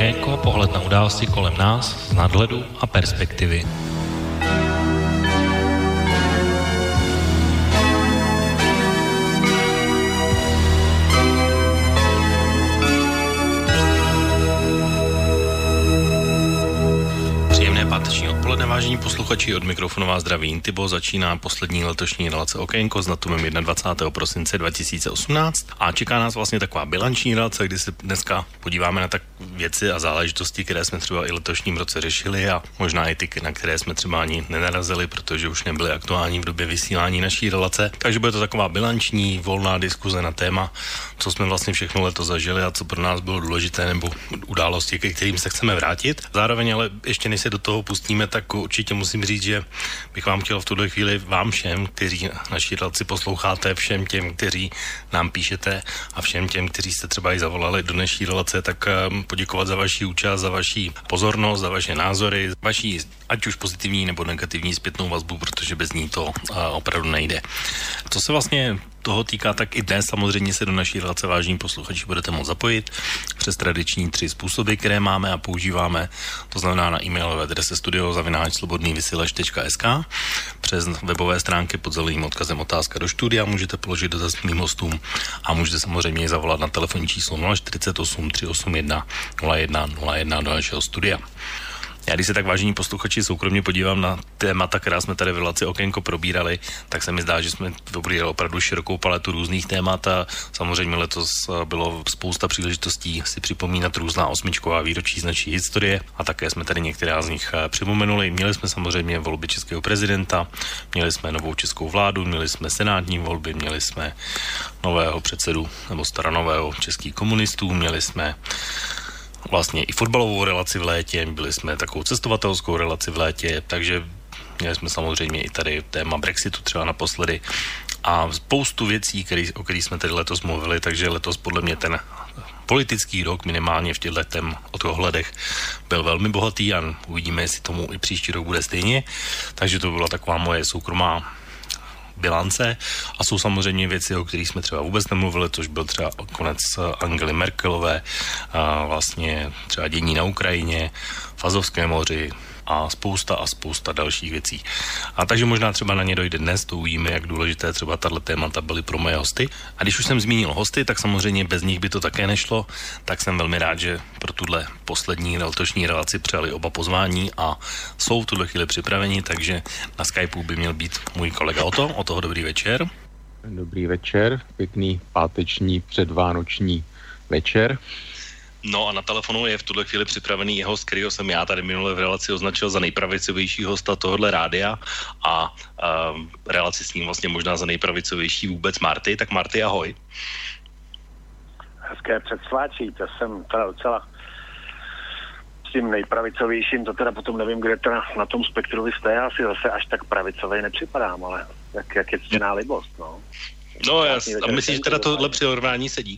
Okénko, pohled na události kolem nás z nadhledu a perspektivy. Páteční odpoledne, vážení posluchači, od mikrofonu vás zdraví Intibo, začíná poslední letošní relace Okénko s datumem 21. prosince 2018 a čeká nás vlastně taková bilanční relace, kdy se dneska podíváme na tak věci a záležitosti, které jsme třeba i letošním roce řešili a možná i ty, na které jsme třeba ani nenarazili, protože už nebyly aktuální v době vysílání naší relace. Takže bude to taková bilanční, volná diskuze na téma, co jsme vlastně všechno letos zažili a co pro nás bylo důležité, nebo události, ke kterým se chceme vrátit. Zároveň ale ještě než se do toho pustíme, tak určitě musím říct, že bych vám chtěl v tuto chvíli vám všem, kteří naši relaci posloucháte, všem těm, kteří nám píšete a všem těm, kteří jste třeba i zavolali do naší relace, tak poděkovat za vaši účast, za vaši pozornost, za vaše názory, vaši ať už pozitivní nebo negativní zpětnou vazbu, protože bez ní to opravdu nejde. Co se vlastně toho týká, tak i dnes samozřejmě se do naší relace, vážení posluchači, budete moct zapojit přes tradiční 3 způsoby, které máme a používáme. To znamená na e-mailové adrese studio@slobodnývysílač.sk, přes webové stránky pod zeleným odkazem otázka do studia, můžete položit dotaz mým hostům a můžete samozřejmě zavolat na telefonní číslo 048 381 0101 do našeho studia. Já když se tak, vážení posluchači, soukromně podívám na témata, která jsme tady v relaci Okénko probírali, tak se mi zdá, že jsme probírali opravdu širokou paletu různých témat a samozřejmě letos bylo spousta příležitostí si připomínat různá 8. výročí z naší historie a také jsme tady některá z nich připomenuli. Měli jsme samozřejmě volby českého prezidenta, měli jsme novou českou vládu, měli jsme senátní volby, měli jsme nového předsedu nebo staronového českých komunistů, měli jsme vlastně i fotbalovou relaci v létě, byli jsme takovou cestovatelskou relaci v létě, takže měli jsme samozřejmě i tady téma Brexitu třeba naposledy a spoustu věcí, o kterých jsme tady letos mluvili, takže letos podle mě ten politický rok minimálně v těchto ohledech byl velmi bohatý a uvidíme, jestli tomu i příští rok bude stejně, takže to byla taková moje soukromá bilance a jsou samozřejmě věci, o kterých jsme třeba vůbec nemluvili, což byl třeba konec Angely Merkelové, a vlastně třeba dění na Ukrajině, v Azovském moři a spousta dalších věcí. A takže možná třeba na ně dojde dnes, to uvidíme, jak důležité třeba tato témata byly pro moje hosty. A když už jsem zmínil hosty, tak samozřejmě bez nich by to také nešlo, tak jsem velmi rád, že pro tuhle poslední letošní relaci přijali oba pozvání a jsou v tuhle chvíli připraveni, takže na Skypeu by měl být můj kolega O toho dobrý večer. Dobrý večer, pěkný páteční předvánoční večer. No a na telefonu je v tuhle chvíli připravený jeho host, kterýho jsem já tady minule v relaci označil za nejpravicovější hosta tohohle rádia a relaci s ním vlastně možná za nejpravicovější vůbec Marty. Tak Marty, ahoj. Hezké předsváčí, to jsem teda docela s tím nejpravicovějším, to teda potom nevím, kde teda na tom spektru vy jste, já si zase až tak pravicovej nepřipadám, ale jak je ctěná libost, no. No jasně, a myslíš, že teda tohle přirovnání sedí?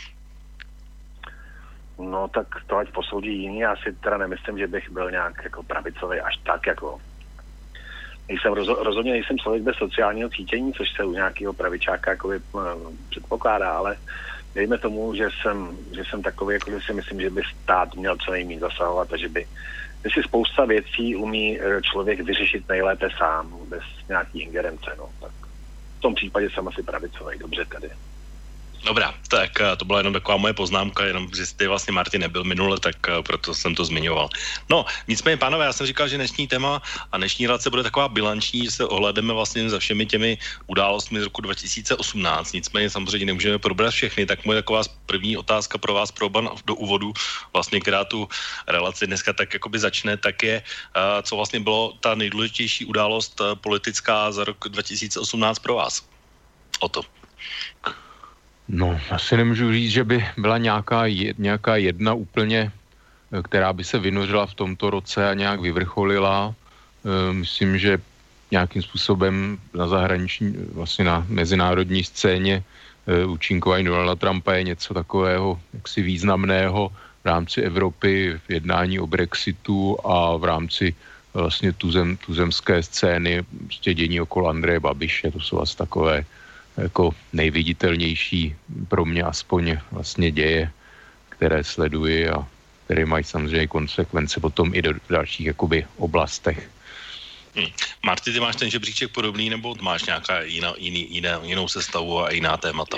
No tak to ať posoudí jiný, já si teda nemyslím, že bych byl nějak jako pravicový až tak jako. Rozhodně nejsem člověk bez sociálního cítění, což se u nějakého pravičáka jakoby předpokládá, ale dejme tomu, že jsem takový, jako že si myslím, že by stát měl co nejméně zasahovat a že si spousta věcí umí člověk vyřešit nejlépe sám, bez nějaký ingerence, no. Tak v tom případě jsem asi pravicový, dobře tady. Dobrá, tak to byla jenom taková moje poznámka, jenom že jste vlastně Martin nebyl minule, tak proto jsem to zmiňoval. No, nicméně, pánové, já jsem říkal, že dnešní téma a dnešní relace bude taková bilanční, že se ohledeme vlastně za všemi těmi událostmi z roku 2018, nicméně samozřejmě nemůžeme probrat všechny, tak moje taková první otázka pro vás, pro oba do úvodu, vlastně, která tu relaci dneska tak jakoby začne, tak je, co vlastně bylo ta nejdůležitější událost politická za rok 2018 pro vás? O to. No, asi nemůžu říct, že by byla nějaká jedna úplně, která by se vynořila v tomto roce a nějak vyvrcholila. Myslím, že nějakým způsobem na zahraniční, vlastně na mezinárodní scéně účinkování Donalda Trumpa je něco takového jaksi významného v rámci Evropy, v jednání o Brexitu a v rámci vlastně tuzemské scény, prostě dění okolo Andreje Babiše, to jsou asi takové jako nejviditelnější pro mě aspoň vlastně děje, které sleduji a které mají samozřejmě konsekvence potom i do dalších jakoby oblastech. Marty, ty máš ten žebříček podobný, nebo máš nějaká jinou sestavu a jiná témata?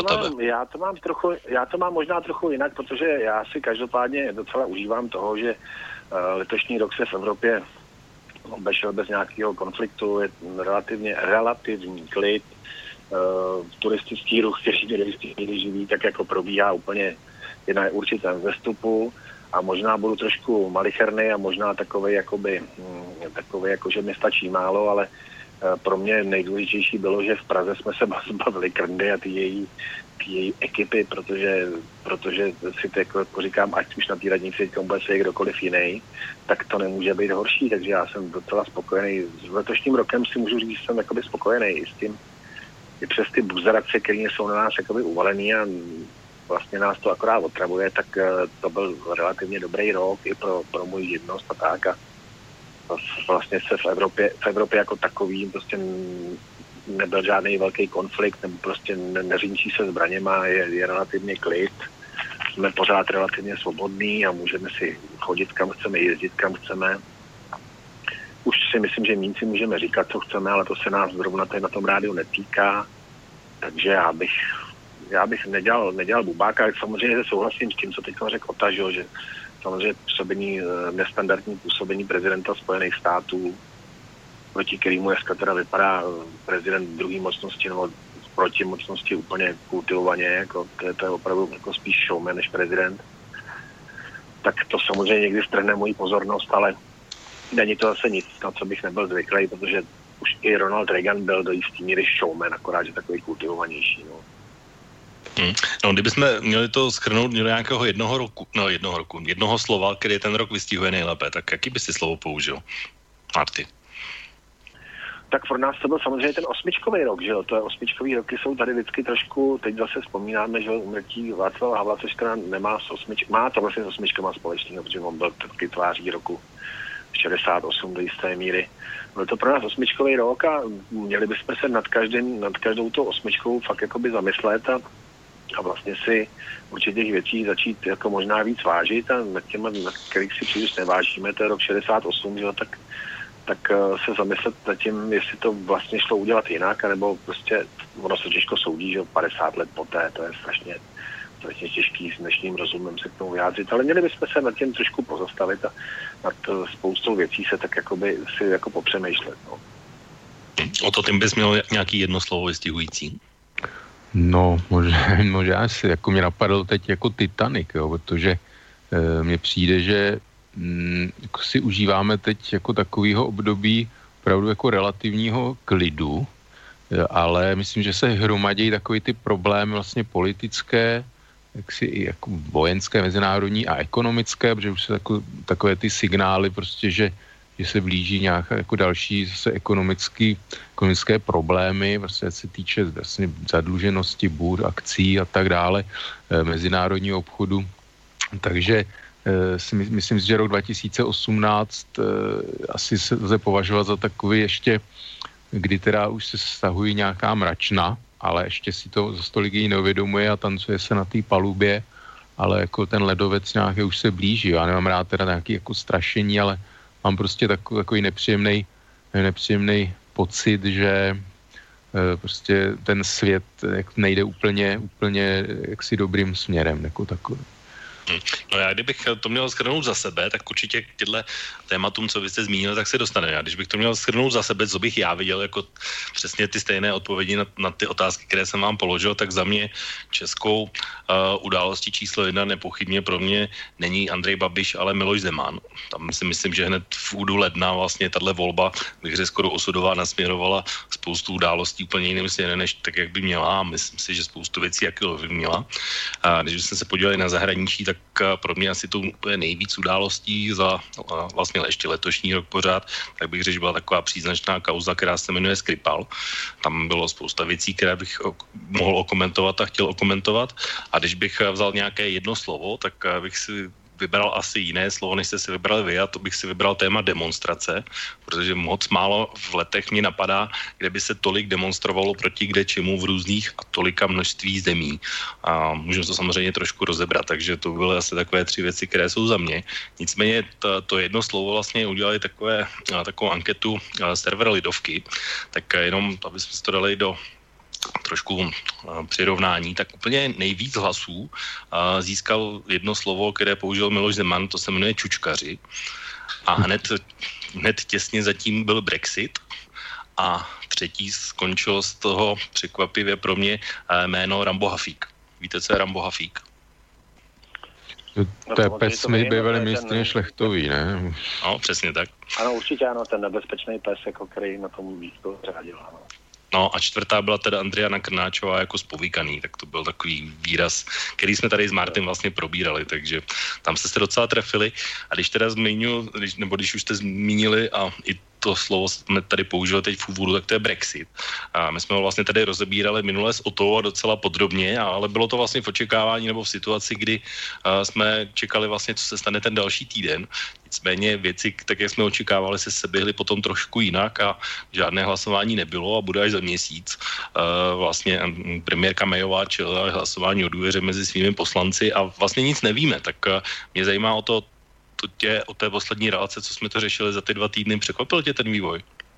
Já to mám možná trochu jinak, protože já si každopádně docela užívám toho, že letošní rok se v Evropě obešel bez nějakého konfliktu, je relativní klid, turistický ruch, který živí, tak jako probíhá úplně na určitém vzestupu. A možná budu trošku malicherný a možná takovej, jako že mi stačí málo, ale pro mě nejdůležitější bylo, že v Praze jsme se zbavili Krndy a ty její ekipy, protože si to jako říkám, ať už na té radnici bude se kdokoliv jiný, tak to nemůže být horší, takže já jsem docela spokojený. S letošním rokem si můžu říct, že jsem jakoby spokojený i s tím, i přes ty buzerace, které jsou na nás jakoby uvalený a vlastně nás to akorát otravuje, tak to byl relativně dobrý rok i pro můj živnost a tak. A vlastně se v Evropě jako takovým prostě nebyl žádný velký konflikt, nebo prostě neřínčí se zbraněma, je relativně klid. Jsme pořád relativně svobodní a můžeme si chodit kam chceme, jezdit kam chceme. Už si myslím, že míň si můžeme říkat, co chceme, ale to se nás zrovna tady na tom rádiu netýká. Takže já bych nedělal bubáka, ale samozřejmě souhlasím s tím, co teď řekl Ota, že samozřejmě nestandardní působení prezidenta Spojených států, proti kterému dneska teda vypadá prezident druhé mocnosti nebo proti mocnosti úplně kultivovaně, jako to je opravdu jako spíš showman než prezident. Tak to samozřejmě někdy strhne moji pozornost, ale není to zase nic, na co bych nebyl zvyklý, protože už i Ronald Reagan byl do jistý míry showman, akorát, že takový kultivovanější. No. No, kdybychom měli to shrnout do nějakého jednoho slova, který ten rok vystihuje nejlépe, tak jaký by si slovo použil? Marty. Tak pro nás to byl samozřejmě ten osmičkový rok, že jo? To je osmičkový roky jsou tady vždycky trošku, teď zase vzpomínáme, že umrtí Václava Havla, což teda nemá má to vlastně s osmičkama společného, protože on byl taky tváří roku 68 do jisté míry. Byl to pro nás osmičkový rok a měli bychom se nad každou tou osmičkou fakt jakoby zamyslet a vlastně si určitých věcí začít jako možná víc vážit a nad kterých si příliš nevážíme, to je rok 68, že jo, tak se zamyslet nad tím, jestli to vlastně šlo udělat jinak, anebo prostě ono se těžko soudí, že 50 let poté, to je strašně těžký s dnešním rozumem se k tomu vyjádřit, ale měli bychom se nad tím trošku pozastavit a nad spoustou věcí se tak jakoby si jako popřemýšlet. No. O to tím bys měl nějaký jedno slovo vystihující? No, možná si, jako mě napadl teď jako Titanic, jo, protože mně přijde, že jako si užíváme teď jako takovýho období opravdu jako relativního klidu, ale myslím, že se hromadí takový ty problémy vlastně politické, jaksi i jako vojenské, mezinárodní a ekonomické, protože už se takové ty signály prostě, že se blíží nějaké jako další zase ekonomické problémy, vlastně se týče vlastně zadluženosti bůr, akcí a tak dále, mezinárodního obchodu. Takže myslím si, že rok 2018 asi se lze považovat za takový ještě, kdy teda už se stahují nějaká mračna, ale ještě si to za stolik jí neuvědomuje a tancuje se na té palubě, ale jako ten ledovec nějaký už se blíží. Já nemám rád teda nějaký jako strašení, ale mám prostě takový nepříjemný pocit, že prostě ten svět nejde úplně jaksi dobrým směrem, jako takový. No já kdybych to měl shrnout za sebe, tak určitě k těmhle tématům, co vy jste zmínil, tak se dostaneme. Já když bych to měl shrnout za sebe, co bych já viděl jako přesně ty stejné odpovědi na ty otázky, které jsem vám položil, tak za mě českou událostí číslo 1 nepochybně pro mě není Andrej Babiš, ale Miloš Zeman. Tam si myslím, že hned v údu ledna vlastně tahle volba, bych řekl skoro osudová, nasměrovala spoustu událostí úplně jiným směrem, než tak, jak by měla, a myslím si, že spoustu věcí, jak by měla. A když jsme se podívali na zahraničí, tak pro mě asi to je nejvíc událostí za vlastně ještě letošní rok pořád, tak bych řekl, že byla taková příznačná kauza, která se jmenuje Skripal. Tam bylo spousta věcí, které bych mohl okomentovat a chtěl okomentovat. A když bych vzal nějaké jedno slovo, tak bych si vybral asi jiné slovo, než jste si vybrali vy, a to bych si vybral téma demonstrace, protože moc málo v letech mě napadá, kde by se tolik demonstrovalo proti kde čemu v různých a tolika množství zemí. A můžeme to samozřejmě trošku rozebrat, takže to byly asi takové 3 věci, které jsou za mě. Nicméně to jedno slovo vlastně udělali takovou anketu server Lidovky, tak jenom, aby jsme si to dali do trošku přirovnání, tak úplně nejvíc hlasů získal jedno slovo, které použil Miloš Zeman, to se jmenuje čučkaři. A hned těsně zatím byl Brexit a třetí skončilo z toho překvapivě pro mě jméno Rambo Hafík. Víte, co je Rambo Hafík? To je pes bývalý ministryně Šlechtový, ne? No, přesně tak. Ano, určitě ano, ten nebezpečný pes, jako který na tom výzku řádil, ano. No a 4. byla teda Andriana Krnáčová jako spovíkaný, tak to byl takový výraz, který jsme tady s Martin vlastně probírali, takže tam jste se docela trefili. A když teda když už jste zmínili a i to slovo jsme tady použili teď v úvodu, tak to je Brexit. A my jsme ho vlastně tady rozebírali minule s Otou a docela podrobně, ale bylo to vlastně v očekávání nebo v situaci, kdy jsme čekali vlastně, co se stane ten další týden. Nicméně věci, tak jak jsme očekávali, se seběhly potom trošku jinak a žádné hlasování nebylo a bude až za měsíc. Vlastně premiérka Mayová čelila hlasování o důvěře mezi svými poslanci a vlastně nic nevíme, tak mě zajímá o té poslední relace, co jsme to řešili za ty 2 týdny, překvapil tě ten vývoj?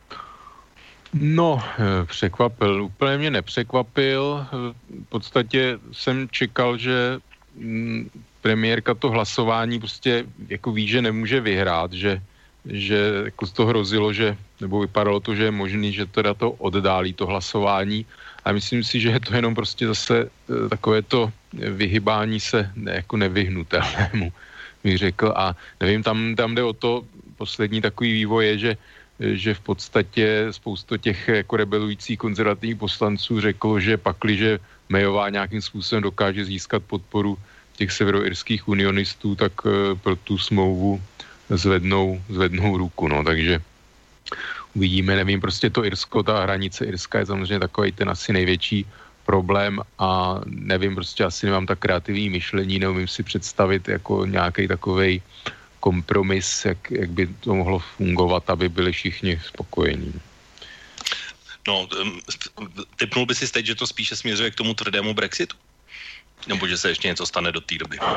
No, překvapil. Úplně mě nepřekvapil. V podstatě jsem čekal, že premiérka to hlasování prostě jako ví, že nemůže vyhrát, že jako to hrozilo, nebo vypadalo to, že je možný, že teda to oddálí to hlasování. A myslím si, že je to jenom prostě zase takové to vyhybání se jako nevyhnutelnému, bych řekl. A nevím, tam jde o to, poslední takový vývoj je, že v podstatě spousta těch jako rebelujících konzervativních poslanců řeklo, že pakliže Mayová nějakým způsobem dokáže získat podporu těch severoirských unionistů, tak pro tu smlouvu zvednou ruku, no, takže uvidíme, nevím, prostě to Irsko, ta hranice Irska je samozřejmě takový ten asi největší problém a nevím, prostě asi nemám tak kreativní myšlení, neumím si představit jako nějaký takovej kompromis, jak by to mohlo fungovat, aby byli všichni spokojení. No, tipnul by si teď, že to spíše směřuje k tomu tvrdému Brexitu? Nebo že se ještě něco stane do té doby?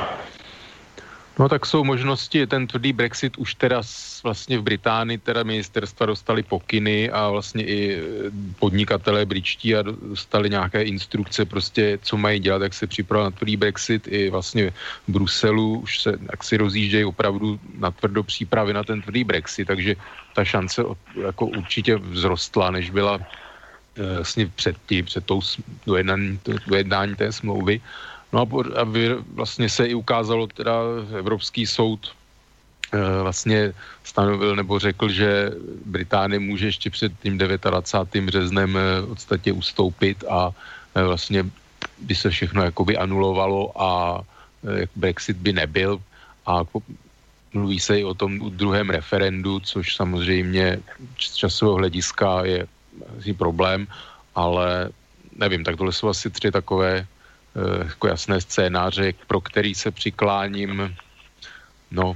No tak jsou možnosti, ten tvrdý Brexit už teda vlastně v Británii teda ministerstva dostali pokyny a vlastně i podnikatelé britští a dostali nějaké instrukce prostě, co mají dělat, jak se připravit na tvrdý Brexit. I vlastně v Bruselu už se jak si rozjíždějí opravdu na tvrdo přípravy na ten tvrdý Brexit, takže ta šance jako určitě vzrostla, než byla vlastně před tou dojednání té smlouvy. No a vlastně se i ukázalo, teda Evropský soud vlastně stanovil nebo řekl, že Británie může ještě před tím 29. březnem v podstatě ustoupit a vlastně by se všechno jakoby anulovalo a Brexit by nebyl a mluví se i o tom druhém referendu, což samozřejmě z časového hlediska je asi problém, ale nevím, tak tohle jsou asi 3 takové jako jasné scénáře, pro který se přikláním, no,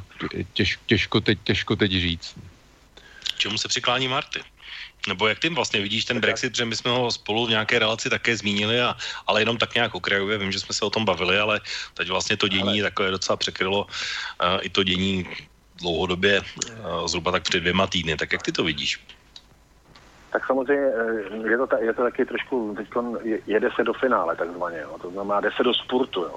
těžko teď říct. Čemu se přiklání Marty? Nebo jak ty vlastně vidíš ten Brexit, že my jsme ho spolu v nějaké relaci také zmínili, ale jenom tak nějak okrajově, vím, že jsme se o tom bavili, ale teď vlastně to dění takové docela překrylo i to dění dlouhodobě, zhruba tak před 2 týdny. Tak jak ty to vidíš? Tak samozřejmě je to taky trošku, teďkon jede se do finále takzvaně, jo. To znamená, jde se do spurtu. Jo.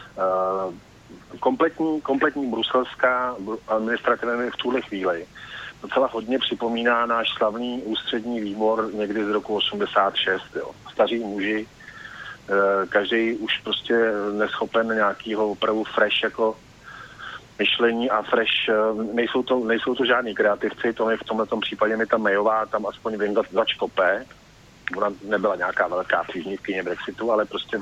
Kompletní bruselská administrativa v tuhle chvíli docela hodně připomíná náš slavný ústřední výbor někdy z roku 86. Jo. Staří muži, každý už prostě neschopen nějakýho opravdu fresh jako myšlení a fresh, nejsou to žádní kreativci, to je v tomhletom případě mi ta Mayová tam aspoň vím začkope. Ona nebyla nějaká velká příznivkyně Brexitu, ale prostě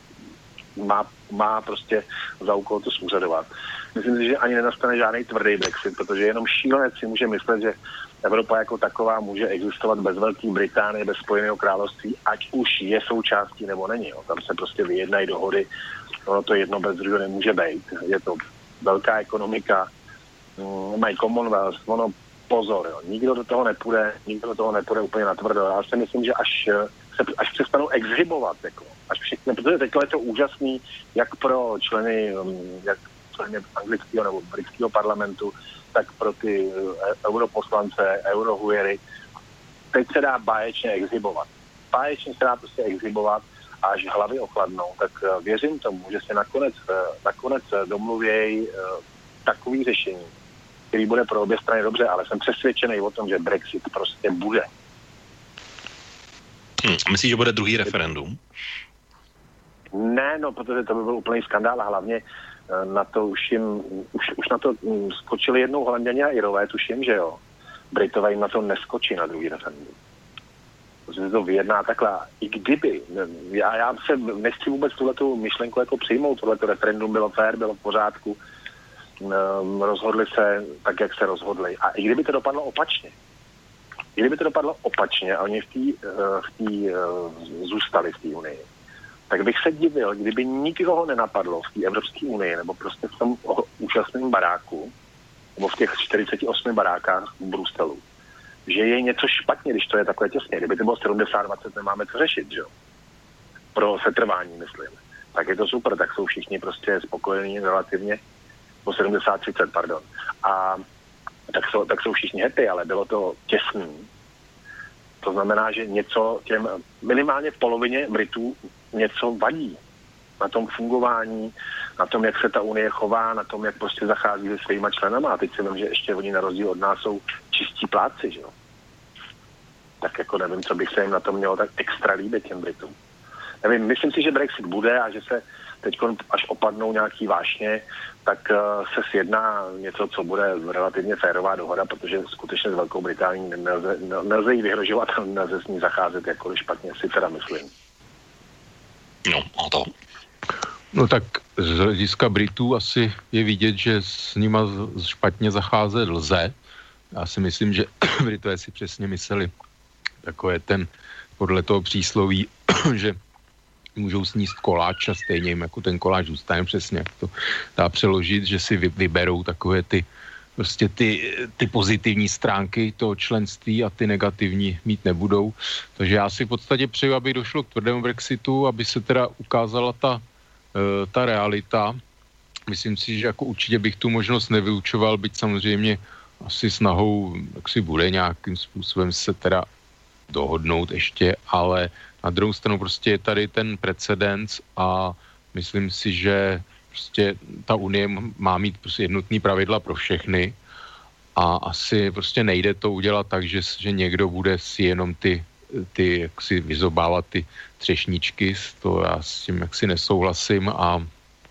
má prostě za úkol to zúřadovat. Myslím si, že ani nenastane žádný tvrdý Brexit, protože jenom šílenec si může myslet, že Evropa jako taková může existovat bez Velké Británie, bez Spojeného království, ať už je součástí nebo není. Jo. Tam se prostě vyjednají dohody, ono to jedno bez druhého nemůže být. Je to velká ekonomika, mají Commonwealth, ono pozor, jo. Nikdo do toho nepůjde úplně natvrdo. Já si myslím, že až přestanou exhibovat, jako, až všichni, protože teď je to úžasný, jak pro členy anglického nebo britského parlamentu, tak pro ty europoslance, eurohujery. Teď se dá báječně exhibovat. Báječně se dá prostě exhibovat a až hlavy ochladnou, tak věřím tomu, že se nakonec domluvějí takový řešení, který bude pro obě strany dobře, ale jsem přesvědčený o tom, že Brexit prostě bude. Myslíš, že bude druhý referendum? Ne, no, protože to by byl úplný skandál a hlavně na to už na to skočili jednou Holanděni a Irové, tuším, že jo. Britové jim na to neskočí na druhý referendum. Protože to vyjedná takhle. I kdyby, já se nechci vůbec tuhletu myšlenku jako přijmout, tohleto referendum bylo fér, bylo v pořádku, rozhodli se tak, jak se rozhodli. A i kdyby to dopadlo opačně a oni zůstali v té unii, tak bych se divil, kdyby nikoho nenapadlo v té Evropské unii nebo prostě v tom úžasném baráku nebo v těch 48 barákách v Bruselu, že je něco špatně, když to je takhle těsně. Kdyby to bylo 70-20, nemáme co řešit, že jo? Pro setrvání, myslím. Tak je to super, tak jsou všichni prostě spokojení relativně, po 70-30, pardon. A tak jsou všichni happy, ale bylo to těsný. To znamená, že něco těm minimálně v polovině Britů něco vadí na tom fungování, na tom, jak se ta unie chová, na tom, jak prostě zachází se svýma členama. A teď si vím, že ještě oni na rozdíl od nás jsou čistí pláci, že jo. Tak jako nevím, co bych se jim na tom mělo tak extra líbit těm Britům. Nevím, myslím si, že Brexit bude a že se teď, až opadnou nějaký vášně, tak se sjedná něco, co bude relativně férová dohoda, protože skutečně s Velkou Británií nelze jí vyhrožovat a nelze s ní zacházet jakkoliv špatně, si teda myslím. No, a to? No tak z hlediska Britů asi je vidět, že s nima špatně zacházet lze. Já si myslím, že Britové si přesně mysleli, takové podle toho přísloví, že můžou sníst koláč a stejně jim jako ten koláč zůstane, přesně jak to dá přeložit, že si vyberou takové ty pozitivní stránky toho členství a ty negativní mít nebudou. Takže já si v podstatě přeju, aby došlo k tvrdému Brexitu, aby se teda ukázala ta realita. Myslím si, že jako určitě bych tu možnost nevyučoval, byť samozřejmě asi snahou, jak si bude nějakým způsobem se teda dohodnout ještě, ale na druhou stranu prostě je tady ten precedens a myslím si, že prostě ta unie má mít prostě jednotný pravidla pro všechny a asi prostě nejde to udělat tak, že někdo bude si jenom ty jak si vyzobávat ty třešničky, to já s tím jaksi nesouhlasím a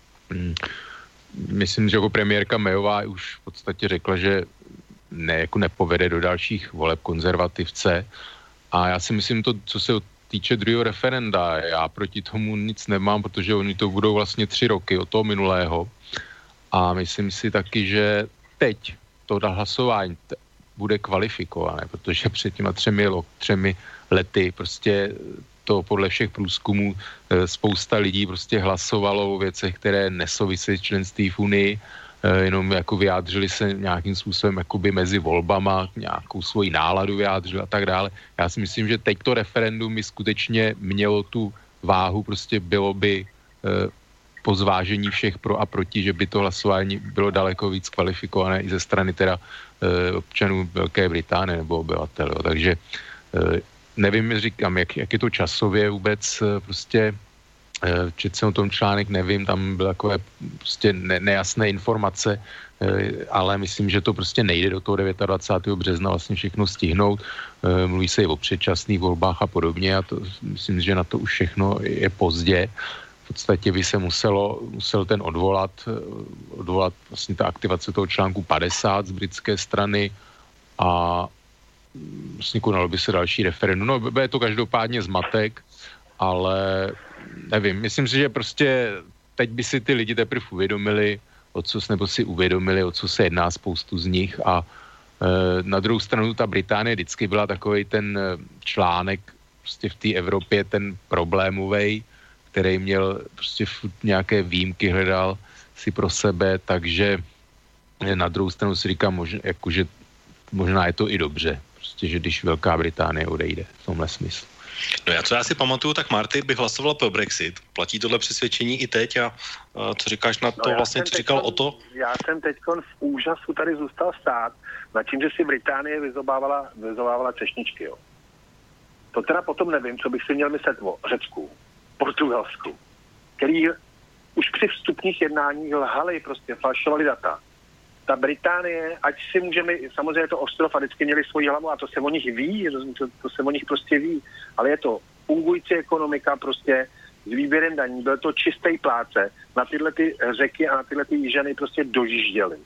myslím, že jako premiérka Mayová už v podstatě řekla, že nepovede do dalších voleb konzervativce a já si myslím to, co se týče druhého referenda, já proti tomu nic nemám, protože oni to budou vlastně 3 roky od toho minulého a myslím si taky, že teď to hlasování bude kvalifikované, protože před těma 3 lety prostě to podle všech průzkumů spousta lidí prostě hlasovalo o věcech, které nesouvisí s členství v Unii, jenom jako vyjádřili se nějakým způsobem jakoby mezi volbama, nějakou svoji náladu vyjádřili a tak dále. Já si myslím, že teď to referendum by skutečně mělo tu váhu, prostě bylo by po zvážení všech pro a proti, že by to hlasování bylo daleko víc kvalifikované i ze strany teda občanů Velké Británie nebo obyvatel. Takže nevím, říkám, jak je to časově vůbec prostě četl jsem o tom článek, nevím, tam byly takové prostě nejasné informace, ale myslím, že to prostě nejde do toho 29. března vlastně všechno stihnout. Mluví se i o předčasných volbách a podobně a to, myslím, že na to už všechno je pozdě. V podstatě by se musel ten odvolat vlastně ta aktivace toho článku 50 z britské strany a vlastně konalo by se další referendum. No, bude to každopádně zmatek, ale nevím, myslím si, že prostě teď by si ty lidi teprve uvědomili, o co se jedná spoustu z nich a na druhou stranu ta Británie vždycky byla takovej ten článek prostě v té Evropě, ten problémovej, který měl prostě nějaké výjimky hledal, si pro sebe, takže na druhou stranu si říkám, že možná je to i dobře, prostě, že když Velká Británie odejde v tomhle smyslu. No co já si pamatuju, tak Marty by hlasovala pro Brexit. Platí tohle přesvědčení i teď a co říkáš na to vlastně, co říkal o to? Já jsem teďkon v úžasu tady zůstal stát nad tím, že si Británie vyzobávala třešničky, jo. To teda potom nevím, co bych si měl myslet o Řecku, Portugalsku, který už při vstupních jednáních lhali, prostě falšovali data. Ta Británie, ať si můžeme, samozřejmě je to ostrov a vždycky měli svoji hlavu a to se o nich ví, to se o nich prostě ví, ale je to fungující ekonomika prostě s výběrem daní, byl to čistý pláce, na tyhle ty řeky a na tyhle ty jižany prostě dojížděli.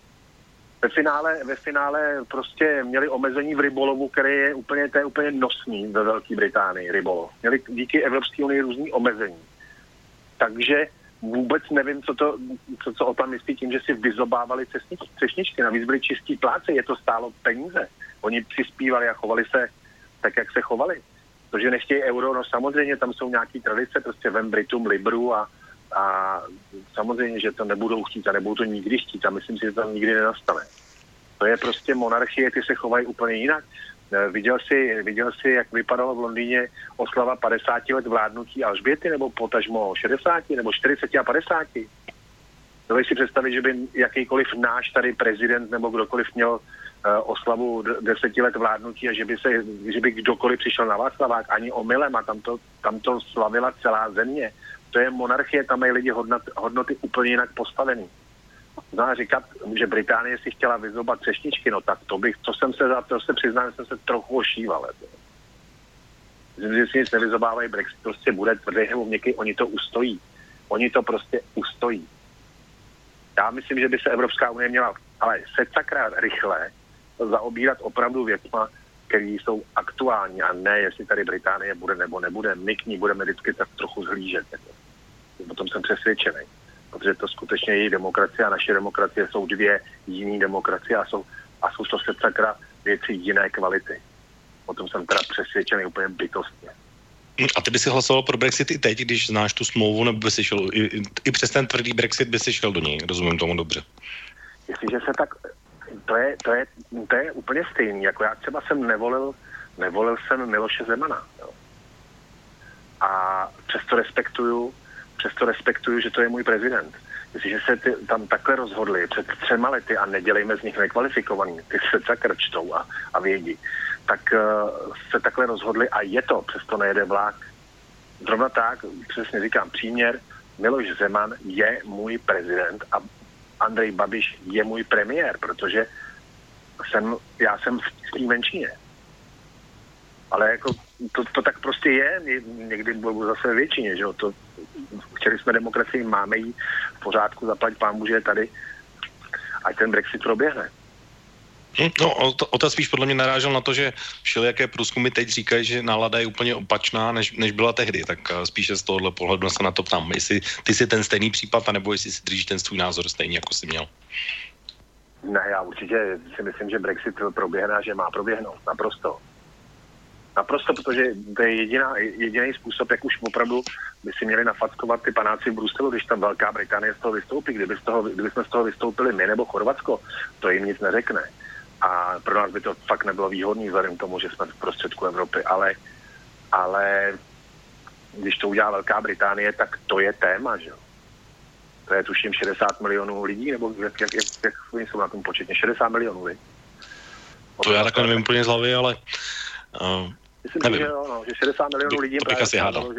Ve finále prostě měli omezení v rybolovu, který je úplně nosný ve Velké Británii, rybolov. Měli díky Evropské unii různý omezení. Takže vůbec nevím, co o tom myslí tím, že si vyzobávali třešničky. Navíc byli čistí pláce, je to stálo peníze. Oni přispívali a chovali se tak, jak se chovali. Protože nechtějí euro, no samozřejmě tam jsou nějaký tradice, prostě vem Britům libru a samozřejmě, že to nebudou chtít a nebudou to nikdy chtít a myslím si, že to nikdy nenastane. To je prostě monarchie, ty se chovají úplně jinak. Viděl jsi, jak vypadalo v Londýně oslava 50 let vládnutí Alžběty, nebo potažmo 60, nebo 40 a 50? Doveď si představit, že by jakýkoliv náš tady prezident nebo kdokoliv měl oslavu 10 let vládnutí a že by kdokoliv přišel na Václavák ani omylem a tam to slavila celá země. To je monarchie, tam mají lidi hodnoty úplně jinak postavený. No a říkat, že Británie si chtěla vyzobat třešničky, no tak to se přiznám, že jsem se trochu ošíval. Myslím, že si nic nevyzobávají, Brexit prostě bude tvrdý nebo měkký, oni to ustojí. Oni to prostě ustojí. Já myslím, že by se Evropská unie měla, ale secakra rychle zaobírat opravdu věcma, které jsou aktuální a ne, jestli tady Británie bude nebo nebude. My k ní budeme vždycky tak trochu zhlížet. O tom jsem přesvědčený. Protože to skutečně její demokracie a naše demokracie jsou dvě jiné demokracie a jsou to secakra věci jiné kvality. O tom jsem teda přesvědčený úplně bytostně. A ty by si hlasoval pro Brexit i teď, když znáš tu smlouvu, nebo by si šel, i přes ten tvrdý Brexit by si šel do něj, rozumím tomu dobře. Jestliže se tak, to je úplně stejný, jako já třeba jsem nevolil jsem Miloše Zemana, jo. A přesto respektuju, že to je můj prezident. Jestliže se tam takhle rozhodli před 3 lety a nedělejme z nich nekvalifikovaný, ty se takhle čtou a vědí, tak se takhle rozhodli a je to, přesto nejede vlák. Zrovna tak, přesně říkám, příměr, Miloš Zeman je můj prezident a Andrej Babiš je můj premiér, protože já jsem v té menšině. Ale jako to tak prostě je, někdy budou zase většině, že jo, chtěli jsme demokracii, máme jí v pořádku, zaplať pánbu, že je tady, ať ten Brexit proběhne. No, to spíš podle mě narážel na to, že všelijaké průzkumy teď říkají, že nálada je úplně opačná, než byla tehdy, tak spíše z tohohle pohledu se na to ptám, jestli ty si ten stejný případ, anebo jestli si držíš ten svůj názor stejný, jako jsi měl. Ne, já určitě si myslím, že Brexit proběhne a že má proběhnout, naprosto, protože to je jediný způsob, jak už opravdu by si měli nafackovat ty panáci v Bruselu, když tam Velká Británie z toho vystoupí. Kdyby jsme z toho vystoupili my nebo Chorvatsko, to jim nic neřekne. A pro nás by to fakt nebylo výhodný vzhledem k tomu, že jsme v prostředku Evropy. Ale když to udělá Velká Británie, tak to je téma, že jo. To je tuším 60 milionů lidí, nebo jak oni jsou na tom početně? 60 milionů lidí. To já takhle nevím úplně z hlavy, ale myslím, že jo, no, že 60 milionů lidí to bych asi hádal.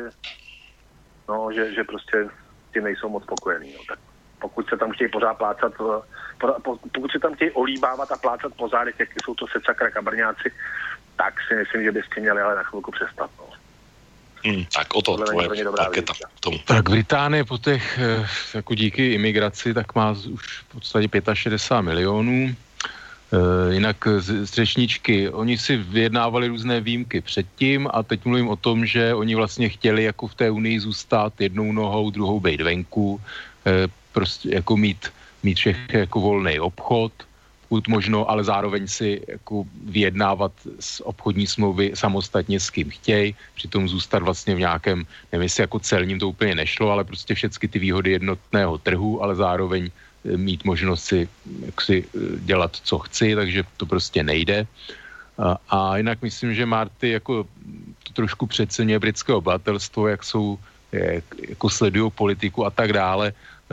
Že prostě ty nejsou moc spokojení. No. Tak pokud se tam chtějí pořád plácat, pokud se tam chtějí olíbávat a plácat po zádech, jak jsou to secakra kabrňáci, tak si myslím, že byste měli ale na chvilku přestat. No. Tak o to tvoje raketa k tomu. Tak Británie po těch, jako díky imigraci, tak má už v podstatě 65 milionů. Jinak z řečničky, oni si vyjednávali různé výjimky předtím a teď mluvím o tom, že oni vlastně chtěli jako v té unii zůstat jednou nohou, druhou bejt venku, prostě jako mít všechny jako volný obchod, pokud možno, ale zároveň si jako vyjednávat z obchodní smlouvy samostatně s kým chtějí, přitom zůstat vlastně v nějakém, nevím, jestli jako celním to úplně nešlo, ale prostě všechny ty výhody jednotného trhu, ale zároveň mít možnost si jaksi dělat, co chci, takže to prostě nejde. A jinak myslím, že Marty jako to trošku přeceňuje britské obyvatelstvo, jak jsou, jako sledují politiku a tak dále.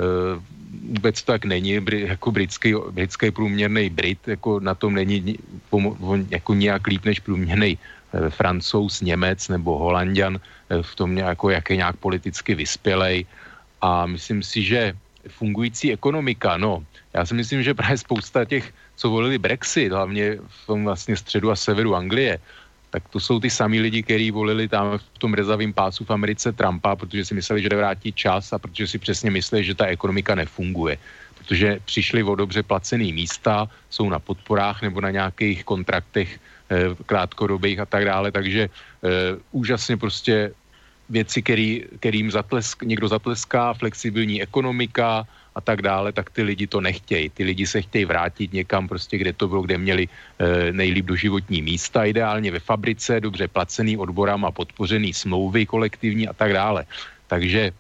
Vůbec to tak není, jako britský průměrný Brit, jako na tom není jako nějak líp než průměrný Francouz, Němec nebo Holanďan v tom jako, jak je nějak politicky vyspělej. A myslím si, že fungující ekonomika, no, já si myslím, že právě spousta těch, co volili Brexit, hlavně v tom vlastně středu a severu Anglie, tak to jsou ty samý lidi, kteří volili tam v tom rezavém pásu v Americe Trumpa, protože si mysleli, že jde vrátit čas a protože si přesně mysleli, že ta ekonomika nefunguje. Protože přišli o dobře placený místa, jsou na podporách nebo na nějakých kontraktech krátkodobých a tak dále, takže úžasně prostě věci, kterým někdo zatleská, flexibilní ekonomika a tak dále, tak ty lidi to nechtějí. Ty lidi se chtějí vrátit někam prostě, kde to bylo, kde měli nejlíp doživotní místa, ideálně ve fabrice, dobře placený odborama, podpořený smlouvy kolektivní a tak dále. Takže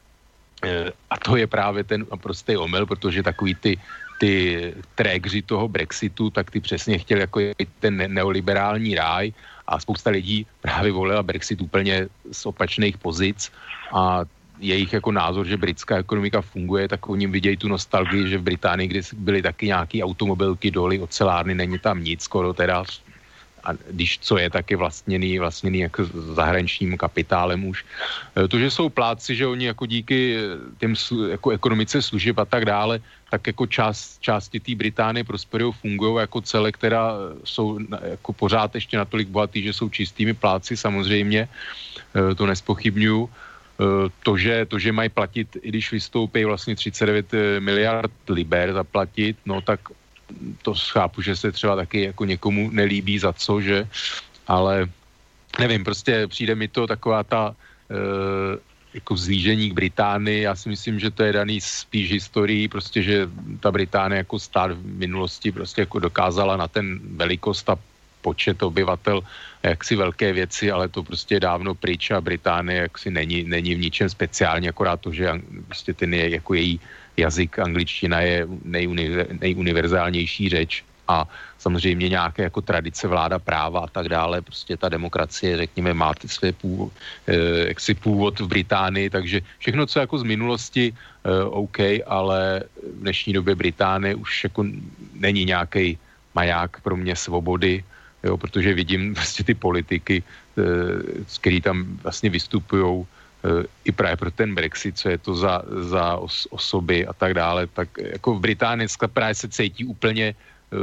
a to je právě ten prostý omyl, protože takový ty trégři toho Brexitu, tak ty přesně chtěli jako ten neoliberální ráj a spousta lidí právě volila Brexit úplně z opačných pozic a jejich jako názor, že britská ekonomika funguje, tak oni vidějí tu nostalgii, že v Británii, kde byly taky nějaký automobilky, doly, ocelárny, není tam nic skoro teda, a když co je, tak je vlastněný jako zahraničním kapitálem už. To, že jsou plátci, že oni jako díky těm jako ekonomice služeb a tak dále, tak jako části té Británie prosperují, fungují jako celé, která jsou jako pořád ještě natolik bohatý, že jsou čistými plátci samozřejmě, to nespochybňuju. To, že mají platit, i když vystoupí vlastně 39 miliard liber zaplatit, no tak to chápu, že se třeba taky jako někomu nelíbí za co, že, ale nevím, prostě přijde mi to taková ta jako vzlížení k Británii, já si myslím, že to je daný spíš historií, prostě, že ta Británie jako stát v minulosti prostě jako dokázala na ten velikost a počet obyvatel jaksi velké věci, ale to prostě je dávno pryč a Británie jaksi není v ničem speciálně, akorát to, že prostě ten je jako její jazyk, angličtina je nejuniverzálnější řeč a samozřejmě nějaké jako tradice, vláda práva a tak dále, prostě ta demokracie, řekněme, má své původ v Británii, takže všechno, co jako z minulosti, OK, ale v dnešní době Británie už jako není nějaký maják pro mě svobody, jo, protože vidím prostě ty politiky, který tam vlastně vystupujou i právě pro ten Brexit, co je to za osoby a tak dále, tak jako v Británii právě se cítí úplně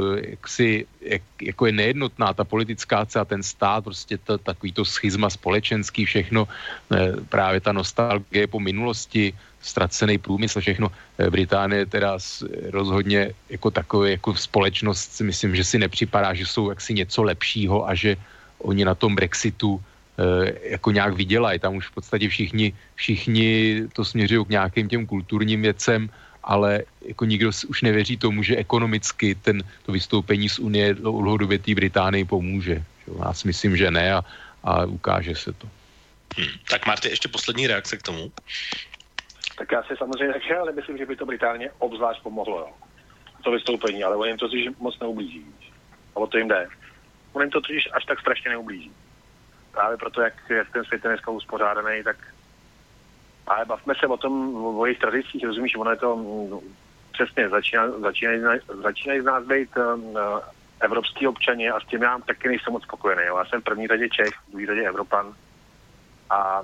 jako je nejednotná ta politická a ten stát, prostě takový to schizma společenský, všechno, právě ta nostalgie po minulosti, ztracený průmysl, všechno. Británie teda rozhodně jako takové, jako společnost si myslím, že si nepřipadá, že jsou jaksi něco lepšího a že oni na tom Brexitu jako nějak vydělají. Tam už v podstatě všichni to směřují k nějakým těm kulturním věcem, ale jako nikdo už nevěří tomu, že ekonomicky to vystoupení z Unie dlouhodobě té Británii pomůže. Já si myslím, že ne a ukáže se to. Tak Marty, ještě poslední reakce k tomu. Tak já si samozřejmě taky, ale myslím, že by to Británie obzvlášť pomohlo, jo. To vystoupení, ale on jim to totiž moc neublíží. A o to jim jde. On jim to totiž až tak strašně neublíží. Právě proto, jak ten svět je dneska uspořádaný, tak ale bavme se o tom, o jejich tradicích, rozumíš, ono je to přesně, začínají z nás být evropský občani a s tím já taky nejsem moc spokojený. Já jsem v první řadě Čech, v druhé řadě Evropan a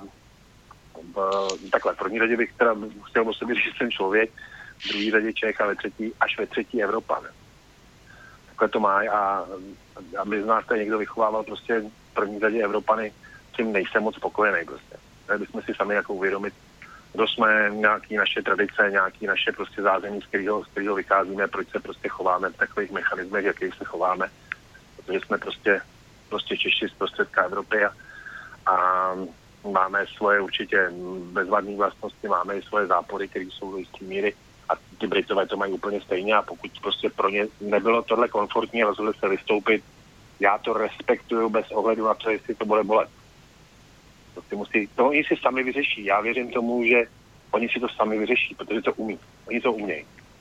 takhle, v první řadě bych teda chtěl o sobě říct, že jsem člověk, v druhé řadě Čech a až ve třetí Evropan. Takhle to má a aby z nás tady někdo vychovával prostě v první řadě Evropany, tím nejsem moc spokojený prostě. Měli bychom si sami jako uvědomit, kdo jsme, nějaký naše tradice, nějaký naše prostě zázemí, z kterého vycházíme, proč se prostě chováme v takových mechanismech, jakých se chováme, protože jsme prostě Češi z prostředka Evropy a máme svoje určitě bezvadné vlastnosti, máme i svoje zápory, které jsou do jisté míry a ty Britové to mají úplně stejně a pokud prostě pro ně nebylo tohle komfortní a rozhodli se vystoupit, já to respektuju bez ohledu na to, jestli to bude bolet. To oni si sami vyřeší. Já věřím tomu, že oni si to sami vyřeší, protože to umí. Oni to umějí.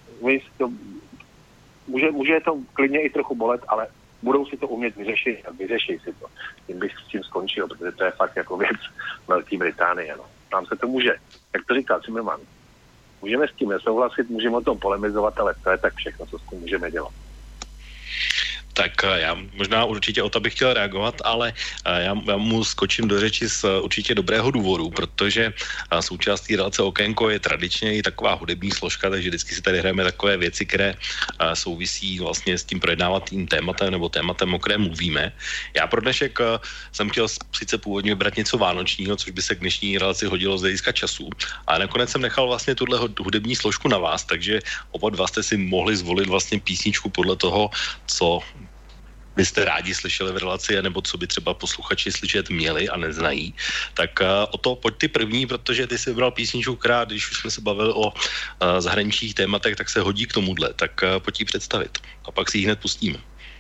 Může to klidně i trochu bolet, ale budou si to umět vyřešit a vyřeší si to. Tím bych s tím skončil, protože to je fakt jako věc Velké Británie. No. Tam se to může, jak to říká Zimmerman, můžeme s tím nesouhlasit, můžeme o tom polemizovat, ale to je tak všechno, co s tím můžeme dělat. Tak já možná určitě o to bych chtěl reagovat, ale já mu skočím do řeči z určitě dobrého důvodu, protože součástí relace Okénko je tradičně i taková hudební složka, takže vždycky si tady hrajeme takové věci, které souvisí vlastně s tím projednávatým tématem nebo tématem, o kterém mluvíme. Já pro dnešek jsem chtěl sice původně vybrat něco vánočního, což by se k dnešní relaci hodilo z hlediska času, ale nakonec jsem nechal vlastně tuhle hudební složku na vás, takže oba dva jste si mohli zvolit vlastně písničku podle toho, co byste rádi slyšeli v relaci, nebo co by třeba posluchači slyšet měli a neznají. Tak o to pojď ty první, protože ty jsi vybral písničku, která, když už jsme se bavili o zahraničních tématech, tak se hodí k tomuhle. Tak pojď ji představit. A pak si ji hned pustíme.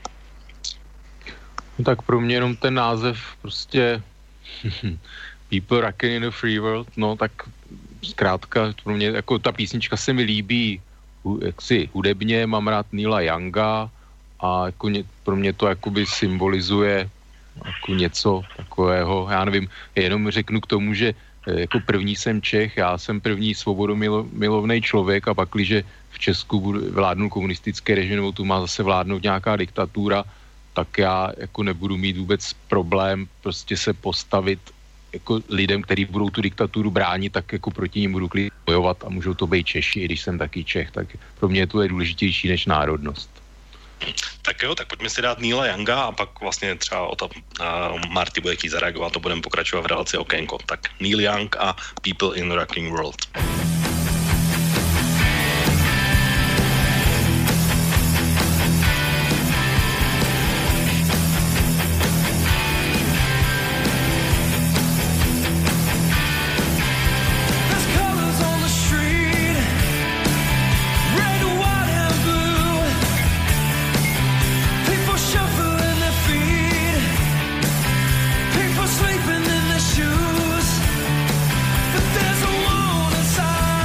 No tak pro mě jenom ten název prostě People Rockin' in the Free World, no tak zkrátka pro mě, jako ta písnička se mi líbí jaksi hudebně, mám rád Neila Younga, a jako pro mě to jakoby symbolizuje jako něco takového, já nevím, jenom řeknu k tomu, že jako první jsem Čech, já jsem první svobodomilovný člověk a pakliže v Česku vládnu komunistické režim, nebo tu má zase vládnout nějaká diktatura, tak já jako nebudu mít vůbec problém prostě se postavit jako lidem, kteří budou tu diktaturu bránit, tak jako proti ním budu klidně bojovat a můžou to být Češi, i když jsem taky Čech, tak pro mě to je důležitější než národnost. Tak jo, tak pojďme si dát Neila Younga a pak vlastně třeba o to Marty bude chtít zareagovat, to budeme pokračovat v relaci Okénko. Tak Neil Young a People in the Rocking World. Sleeping in their shoes, but there's a wall inside.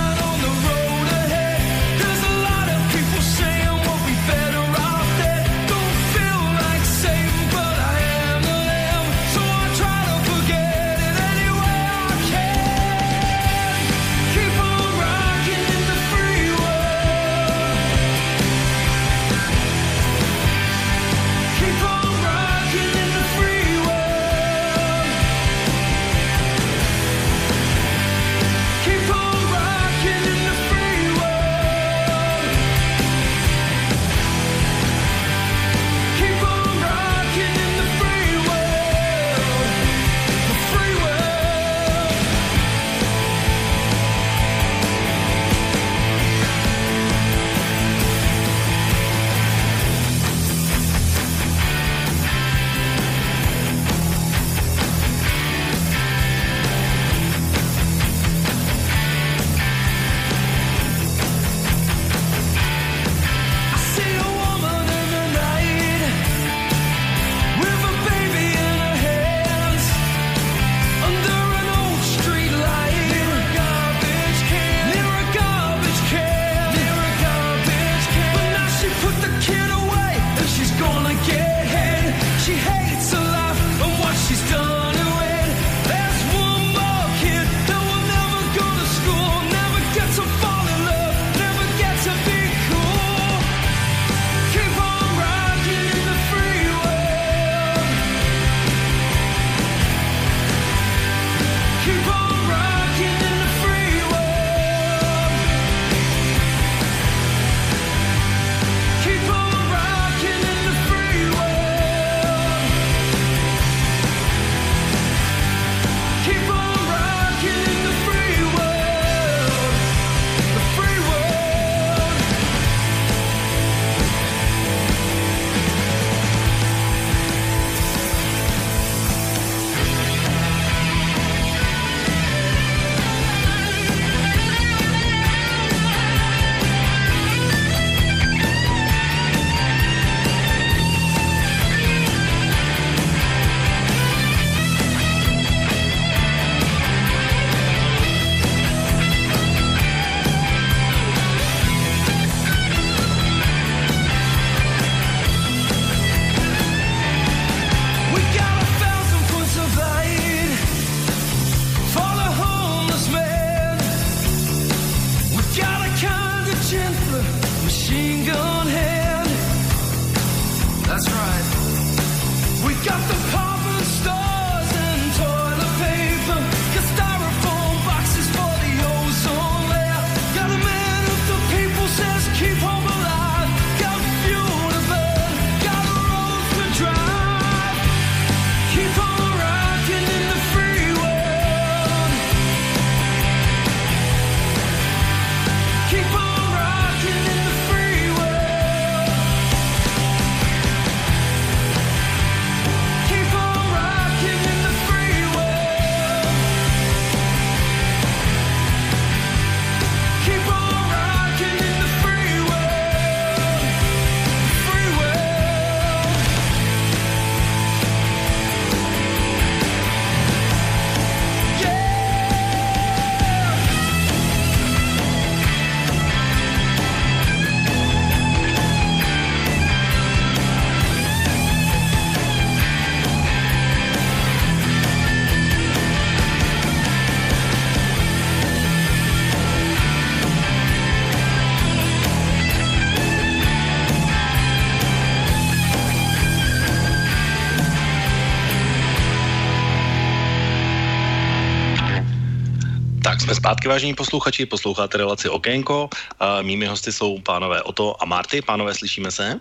Jsme zpátky, vážení posluchači, posloucháte relaci Okénko. Mými hosty jsou pánové Otto a Marty. Pánové, slyšíme se?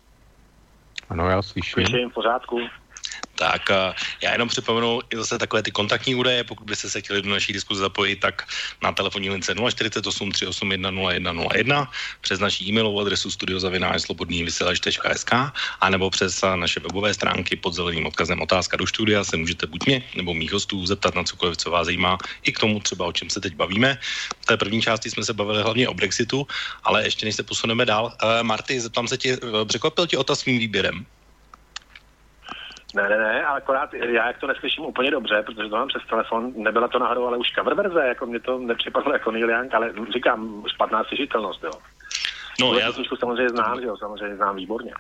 Ano, já slyším. Slyším, v pořádku. Tak já jenom připomenu i zase takové ty kontaktní údaje, pokud byste se chtěli do naší diskuze zapojit, tak na telefonní lince 048 381 0101, přes naší e-mailovou adresu studio@slobodnývysílač.sk a nebo přes naše webové stránky pod zeleným odkazem otázka do studia se můžete buď mě nebo mých hostů zeptat na cokoliv, co vás zajímá, i k tomu třeba, o čem se teď bavíme. V té první části jsme se bavili hlavně o Brexitu, ale ještě než se posuneme dál, Marty, zeptám se tě, překvapil tě Ota svým výběrem? Ne, ale akorát já jak to neslyším úplně dobře, protože to mám přes telefon, nebyla to náhodou, ale už cover verze, jako mě to nepřipadlo jako Neil Young, ale říkám, špatná slyšitelnost, jo. No, já samozřejmě znám, že jo, samozřejmě znám výborně.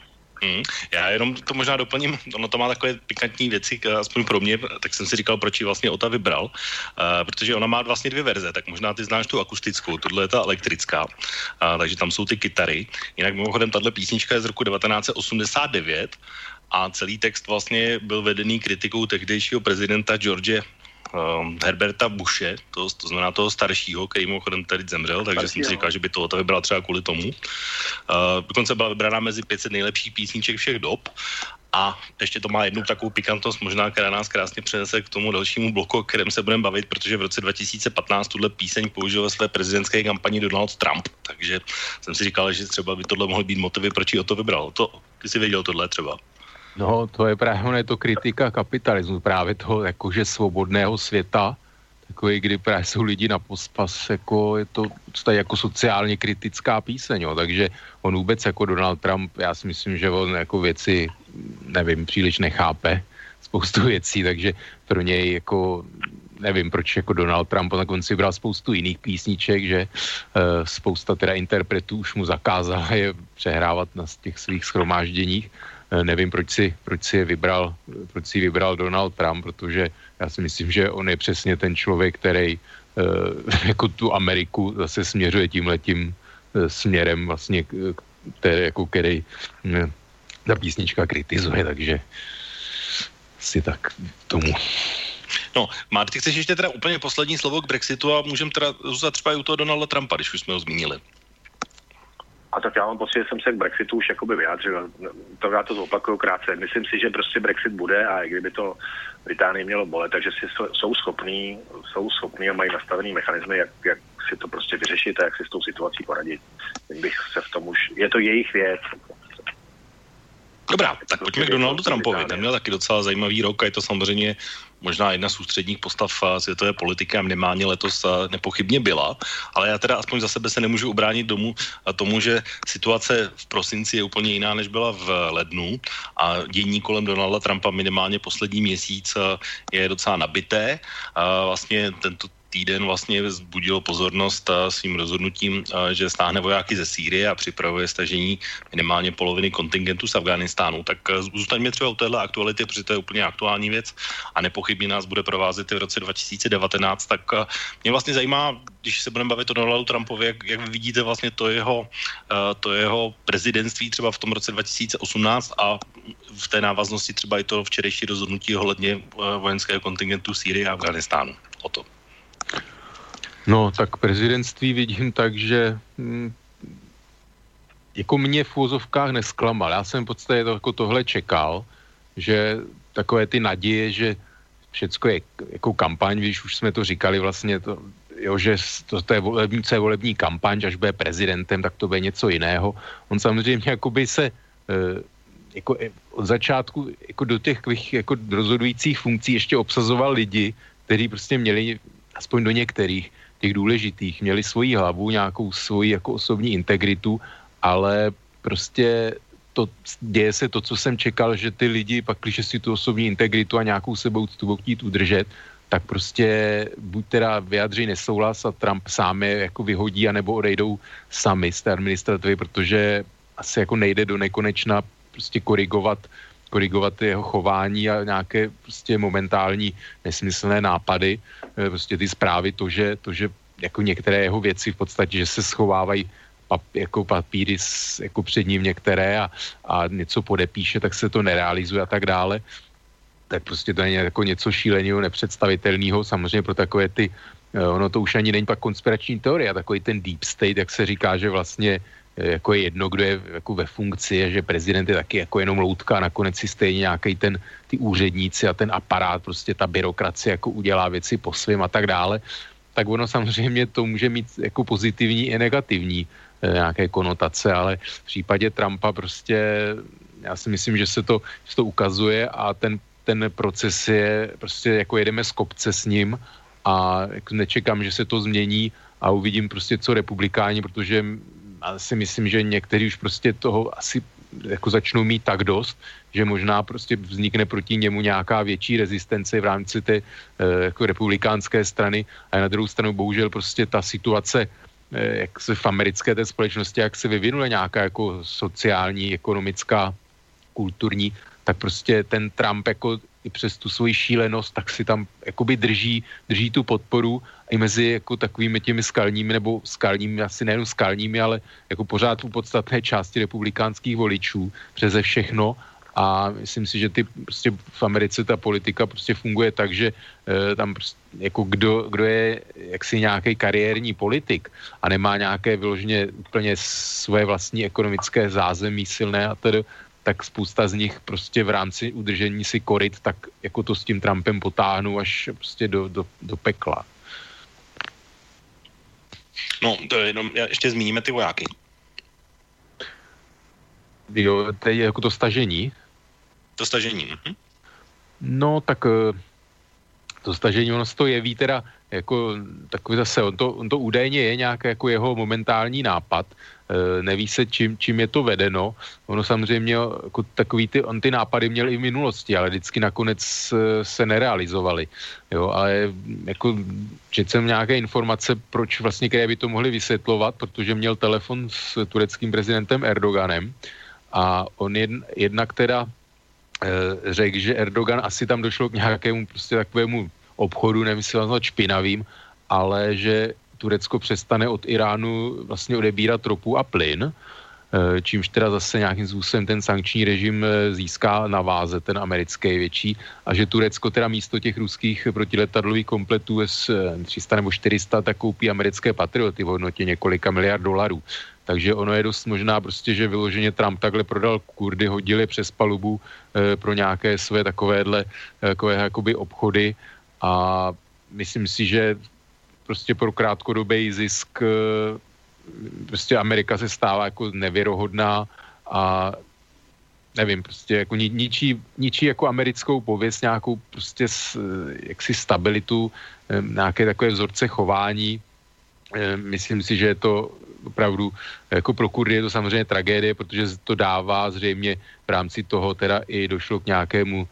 Já jenom to možná doplním, ono to má takové pikantní věci, aspoň pro mě, tak jsem si říkal, proč ji vlastně Ota vybral, protože ona má vlastně dvě verze, tak možná ty znáš tu akustickou, tohle je ta elektrická, takže tam jsou ty kytary, jinak mimochodem tahle písnička je z roku 1989 a celý text vlastně byl vedený kritikou tehdejšího prezidenta George Herberta Bushe, to znamená toho staršího, který mimochodem tady zemřel, takže jsem si říkal, že by to vybral třeba kvůli tomu. Dokonce byla vybraná mezi 500 nejlepších písniček všech dob a ještě to má jednu takovou pikantnost, možná, která nás krásně přenese k tomu dalšímu bloku, o kterém se budeme bavit, protože v roce 2015 tuhle píseň použil ve své prezidentské kampani Donald Trump, takže jsem si říkal, že třeba by tohle mohly být motivy, proč ji o to vybral. Ty jsi věděl tohle třeba? No, to je právě to kritika kapitalismu, právě toho jakože svobodného světa, takový, kdy právě jsou lidi na pospas, jako je to tady jako sociálně kritická píseň, jo, takže on vůbec jako Donald Trump, já si myslím, že on jako věci, nevím, příliš nechápe spoustu věcí, takže pro něj jako nevím, proč jako Donald Trump na konci bral spoustu jiných písniček, že spousta teda interpretů už mu zakázala je přehrávat na těch svých shromážděních. Nevím, proč si vybral Donald Trump, protože já si myslím, že on je přesně ten člověk, který jako tu Ameriku zase směřuje tímhletím směrem vlastně, který ta písnička kritizuje, takže si tak tomu. No, Marty, chceš ještě teda úplně poslední slovo k Brexitu a můžeme teda zůstat třeba i u toho Donalda Trumpa, když už jsme ho zmínili. A tak já mám pocit, že jsem se k Brexitu už jakoby vyjádřil. To já to zopakuju krátce. Myslím si, že prostě Brexit bude a i kdyby to Británii mělo bolet, takže jsou schopní a mají nastavený mechanismy, jak si to prostě vyřešit a jak si s tou situací poradit. Bych se v tom už... Je to jejich věc. Dobrá, tak pojďme k Donaldu Trumpovi. Ten měl taky docela zajímavý rok a je to samozřejmě možná jedna z ústředních postav světové politiky a minimálně letos nepochybně byla, ale já teda aspoň za sebe se nemůžu ubránit tomu, že situace v prosinci je úplně jiná, než byla v lednu a dění kolem Donalda Trumpa minimálně poslední měsíc je docela nabité. Vlastně týden vlastně vzbudilo pozornost svým rozhodnutím, že stáhne vojáky ze Sýrie a připravuje stažení minimálně poloviny kontingentu z Afghánistánu. Tak zůstaňme třeba u téhle aktuality, protože to je úplně aktuální věc a nepochybně nás bude provázet i v roce 2019. Tak mě vlastně zajímá, když se budeme bavit o Donaldu Trumpovi, jak vy vidíte vlastně to jeho prezidentství třeba v tom roce 2018 a v té návaznosti třeba i to včerejší rozhodnutí ohledně vojenského kontingentu Sýrie a Afghánistánu. O to. No, tak prezidentství vidím tak, že jako mě v úvozovkách nesklamal. Já jsem v podstatě jako tohle čekal, že takové ty naděje, že všecko je jako kampaň, když už jsme to říkali vlastně, že to je volební kampaň, až bude prezidentem, tak to bude něco jiného. On samozřejmě jakoby se jako od začátku jako do těch jako rozhodujících funkcí ještě obsazoval lidi, kteří prostě měli, aspoň do některých těch důležitých, měli svoji hlavu, nějakou svoji jako osobní integritu, ale prostě děje se to, co jsem čekal, že ty lidi pak, když si tu osobní integritu a nějakou sebouctu budou chtít udržet, tak prostě buď teda vyjadří nesouhlas a Trump sám je jako vyhodí, anebo odejdou sami z té administrativy, protože asi jako nejde do nekonečna prostě korigovat jeho chování a nějaké prostě momentální nesmyslné nápady, prostě ty zprávy, to, že jako některé jeho věci v podstatě, že se schovávají jako papíry jako před ním některé a něco podepíše, tak se to nerealizuje a tak dále, tak prostě to je jako něco šíleného, nepředstavitelného, samozřejmě pro takové ty, ono to už ani není pak konspirační teorie, takový ten deep state, jak se říká, že vlastně jako je jedno, kdo je jako ve funkci, že prezident je taky jako jenom loutka a nakonec si stejně nějaký ty úředníci a ten aparát, prostě ta byrokracie jako udělá věci po svým a tak dále, tak ono samozřejmě to může mít jako pozitivní i negativní nějaké konotace, ale v případě Trumpa prostě já si myslím, že se to ukazuje a ten proces je prostě jako jedeme z kopce s ním a nečekám, že se to změní a uvidím prostě co republikáni, protože já si myslím, že někteří už prostě toho asi jako začnou mít tak dost, že možná prostě vznikne proti němu nějaká větší rezistence v rámci té jako republikánské strany a na druhou stranu bohužel prostě ta situace jak se v americké té společnosti, jak se vyvinula nějaká jako sociální, ekonomická, kulturní, tak prostě ten Trump jako i přes tu svoji šílenost, tak si tam jakoby drží tu podporu i mezi jako takovými těmi skalními, asi nejen skalními, ale jako pořád u podstatné části republikánských voličů přeze všechno a myslím si, že prostě v Americe ta politika prostě funguje tak, že tam prostě, jako kdo je jaksi nějaký kariérní politik a nemá nějaké vyloženě úplně svoje vlastní ekonomické zázemí silné a tedy, tak spousta z nich prostě v rámci udržení si koryt, tak jako to s tím Trumpem potáhnou až prostě do pekla. No, to je jenom, ještě zmíníme ty vojáky. Jo, to je jako to stažení. To stažení. No, tak to stažení, ono se to jeví teda jako takový zase, on to údajně je nějaký jako jeho momentální nápad, neví se, čím je to vedeno. Ono samozřejmě jako takový ty nápady měl i v minulosti, ale vždycky nakonec se nerealizovaly. Jo, ale jako četl jsem nějaké informace, proč vlastně, které by to mohli vysvětlovat, protože měl telefon s tureckým prezidentem Erdoganem a on jednak teda řekl, že Erdogan asi tam došlo k nějakému prostě takovému obchodu, nemyslel špinavým, ale že Turecko přestane od Iránu vlastně odebírat ropu a plyn, čímž teda zase nějakým způsobem ten sankční režim získá na váze, ten americký větší, a že Turecko teda místo těch ruských protiletadlových kompletů S-300 nebo 400 tak koupí americké Patrioty v hodnotě několika miliard dolarů. Takže ono je dost možná prostě, že vyloženě Trump takhle prodal Kurdy, hodil je přes palubu pro nějaké své takovéhle jakoby obchody a myslím si, že prostě pro krátkodobý zisk prostě Amerika se stává jako nevěrohodná a nevím, prostě jako ničí jako americkou pověst, nějakou prostě jaksi stabilitu, nějaké takové vzorce chování myslím si, že je to opravdu, jako pro Kurdy je to samozřejmě tragédie, protože to dává zřejmě v rámci toho teda i došlo k nějakému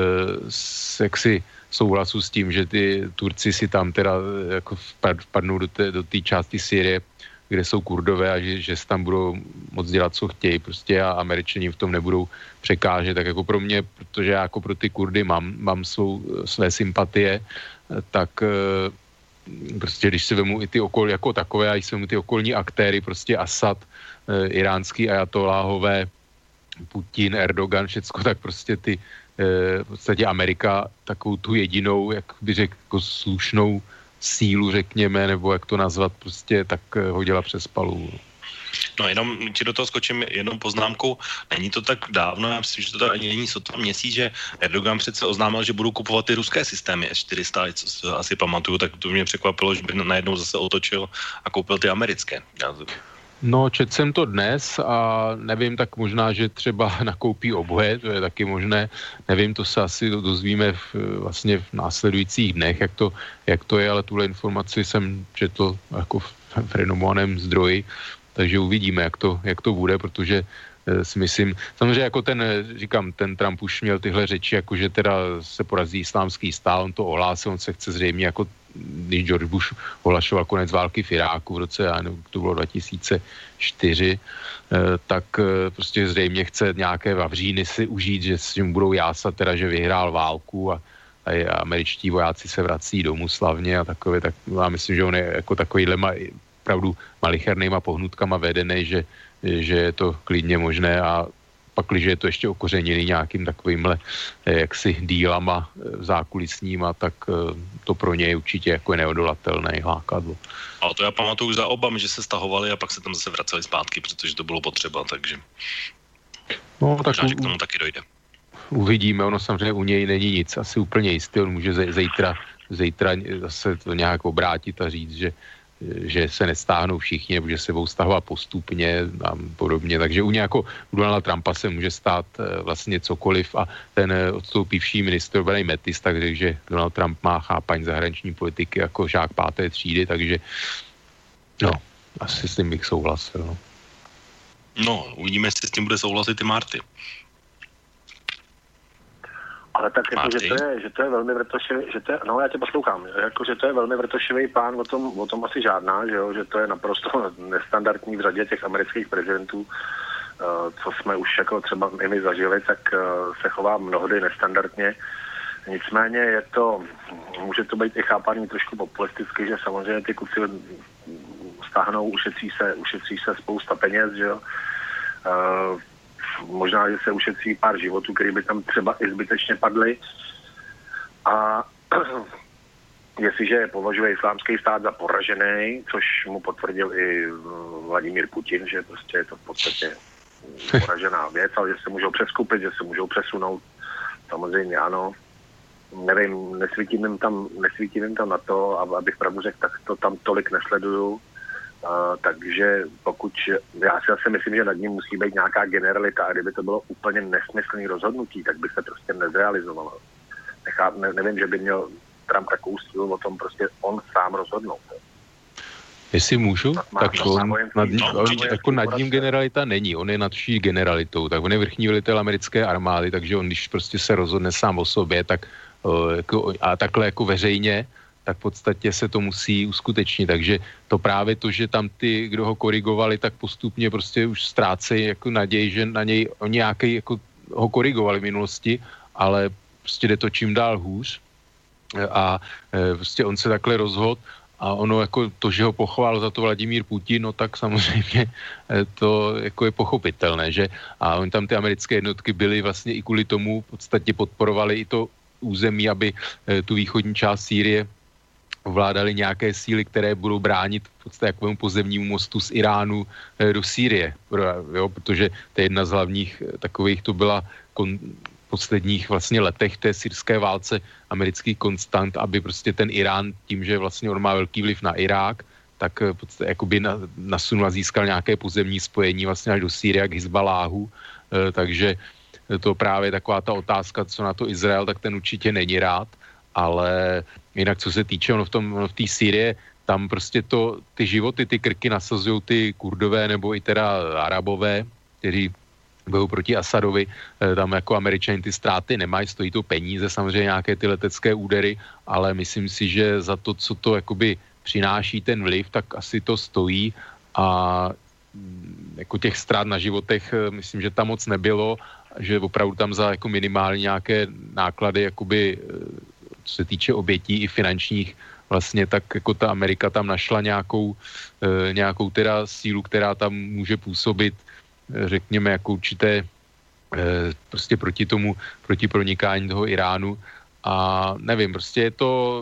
jaksi souhlasu s tím, že ty Turci si tam teda jako vpadnou do té části Sýrie, kde jsou Kurdové a že si tam budou moc dělat, co chtějí prostě a Američani v tom nebudou překážet. Tak jako pro mě, protože já jako pro ty Kurdy mám své sympatie, tak prostě když si vemu i ty okolí jako takové, a když si vemu ty okolní aktéry, prostě Asad, iránský ajatoláhové, Putin, Erdogan, všecko, tak prostě ty v podstatě Amerika takovou tu jedinou, jak by řekl, jako slušnou sílu, řekněme, nebo jak to nazvat, prostě tak hodila přes palubu. No jenom ti do toho skočím jednou poznámkou. Není to tak dávno, já myslím, že to ani není sotva měsíc, že Erdogan přece oznámil, že budou kupovat ty ruské systémy S-400, co asi pamatuju, tak to mě překvapilo, že by najednou zase otočil a koupil ty americké. No, četl jsem to dnes a nevím, tak možná, že třeba nakoupí oboje, to je taky možné. Nevím, to se asi dozvíme vlastně v následujících dnech, jak to je, ale tuhle informaci jsem četl jako v renomovaném zdroji, takže uvidíme, jak to bude, protože si myslím, samozřejmě jako ten Trump už měl tyhle řeči, jako že teda se porazí islámský stát, on to ohlásil, on se chce zřejmě jako když George Bush ohlašoval konec války v Iráku v roce, to bylo 2004, tak prostě zřejmě chce nějaké vavříny si užít, že mu budou jásat teda, že vyhrál válku a američtí vojáci se vrací domů slavně a takové, tak já myslím, že on je jako takovýhle opravdu malichernýma pohnutkama vedený, že je to klidně možné a pakliže je to ještě okořeněný nějakým takovýmhle jaksi dílama zákulisníma, tak to pro ně je určitě jako neodolatelné lákadlo. Ale to já pamatuju za Obamy, že se stahovali a pak se tam zase vraceli zpátky, protože to bylo potřeba, takže no, tak možná, že k tomu taky dojde. Uvidíme, ono samozřejmě u něj není nic asi úplně jistý, on může zítra zase to nějak obrátit a říct, že se nestáhnou všichni, nebo že se budou stahovat postupně a podobně. Takže u Donalda Trumpa se může stát vlastně cokoliv a ten odstoupivší ministr obrany Mattis, takže Donald Trump má chápaň zahraniční politiky jako žák 5. třídy, takže no, asi s tím bych souhlasil. No, uvidíme, jestli s tím bude souhlasit i Marty. Ale tak jako, že to je velmi vrtošivý, no já tě poslouchám, jako, že to je velmi vrtošivý pán, o tom asi žádná, že to je naprosto nestandardní v řadě těch amerických prezidentů, co jsme už jako třeba i my zažili, tak se chová mnohdy nestandardně. Nicméně může to být i chápaný trošku populisticky, že samozřejmě ty kluci stáhnou, ušetří se spousta peněz, že jo. Možná, že se ušetří pár životů, který by tam třeba i zbytečně padly. A jestliže považuje islámský stát za poražený, což mu potvrdil i Vladimír Putin, že prostě je to v podstatě poražená věc, ale že se můžou přeskupit, že se můžou přesunout, samozřejmě ano. Nevím, nesvítím jim tam na to, abych pravdu řekl, tak to tam tolik nesleduju. Takže já si asi myslím, že nad ním musí být nějaká generalita a kdyby to bylo úplně nesmyslný rozhodnutí, tak by se prostě nezrealizovalo. Nevím, že by měl Trump takovou sílu o tom prostě on sám rozhodnout. Jestli můžu, tak nad ním generalita není, on je nad vší generalitou, tak on je vrchní velitel americké armády, takže on když prostě se rozhodne sám o sobě, tak a takhle jako veřejně, tak v podstatě se to musí uskutečnit. Takže to právě to, že tam ty, kdo ho korigovali, tak postupně prostě už ztrácejí jako naději, že na něj oni nějaký jako ho korigovali v minulosti, ale prostě jde to čím dál hůř a prostě on se takhle rozhodl a ono jako to, že ho pochválil za to Vladimír Putin, no tak samozřejmě to jako je pochopitelné, že a oni tam ty americké jednotky byly vlastně i kvůli tomu v podstatě podporovali i to území, aby tu východní část Sýrie ovládali nějaké síly, které budou bránit v podstatě jakovému pozemnímu mostu z Iránu do Sýrie, protože to je jedna z hlavních takových, to byla v posledních vlastně letech té syrské válce americký konstant, aby prostě ten Irán tím, že vlastně on má velký vliv na Irák, tak v podstatě jakoby nasunul a získal nějaké pozemní spojení vlastně až do Sýrie k Hizbaláhu, takže to právě taková ta otázka, co na to Izrael, tak ten určitě není rád, ale jinak co se týče, v té Sýrie, tam prostě ty životy, ty krky nasazují ty Kurdové nebo i teda Arabové, kteří budou proti Asadovi, tam jako Američani ty ztráty nemají, stojí to peníze, samozřejmě nějaké ty letecké údery, ale myslím si, že za to, co to jakoby přináší ten vliv, tak asi to stojí a jako těch ztrát na životech myslím, že tam moc nebylo, že opravdu tam za jako minimální nějaké náklady jakoby, co se týče obětí i finančních, vlastně tak jako ta Amerika tam našla nějakou teda sílu, která tam může působit, řekněme, jako určité prostě proti pronikání toho Iránu a nevím, prostě je to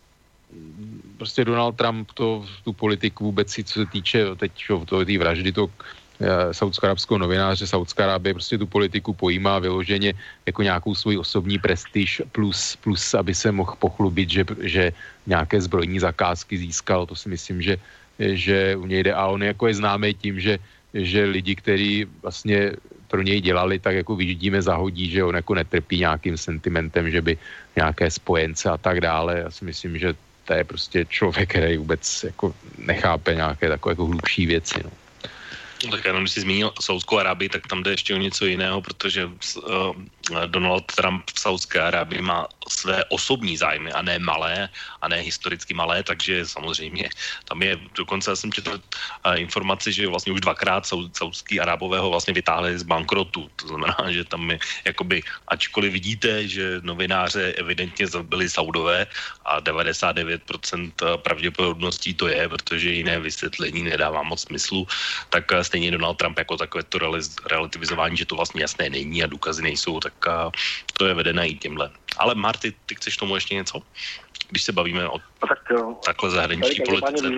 prostě Donald Trump tu politiku vůbec si, co se týče teď té vraždy toho saudsko-arabského novináře, Saudská Arábie prostě tu politiku pojímá vyloženě jako nějakou svůj osobní prestiž plus aby se mohl pochlubit, že nějaké zbrojní zakázky získal, to si myslím, že u něj jde a on jako je známý tím, že lidi, kteří vlastně pro něj dělali, tak jako vyždíme zahodí, že on jako netrpí nějakým sentimentem, že by nějaké spojence a tak dále. Já si myslím, že to je prostě člověk, který vůbec jako nechápe nějaké takové jako hlubší věci. No. Tak jenom, když jsi zmínil Saudskou Arábii, tak tam jde ještě o něco jiného, protože Donald Trump v Saudské Arábii má své osobní zájmy a ne malé, a ne historicky malé, takže samozřejmě tam je, dokonce já jsem četl informaci, že vlastně už dvakrát saudský Arábové ho vlastně vytáhli z bankrotu, to znamená, že tam je jakoby, ačkoliv vidíte, že novináře evidentně zabili Saudové a 99% pravděpodobností to je, protože jiné vysvětlení nedává moc smyslu, tak stejně Donald Trump jako takové to relativizování, že to vlastně jasné není a důkazy nejsou, tak to je vedené i tímhle. Ale Marty, ty chceš tomu ještě něco? Když se bavíme o takhle zahraniční politice.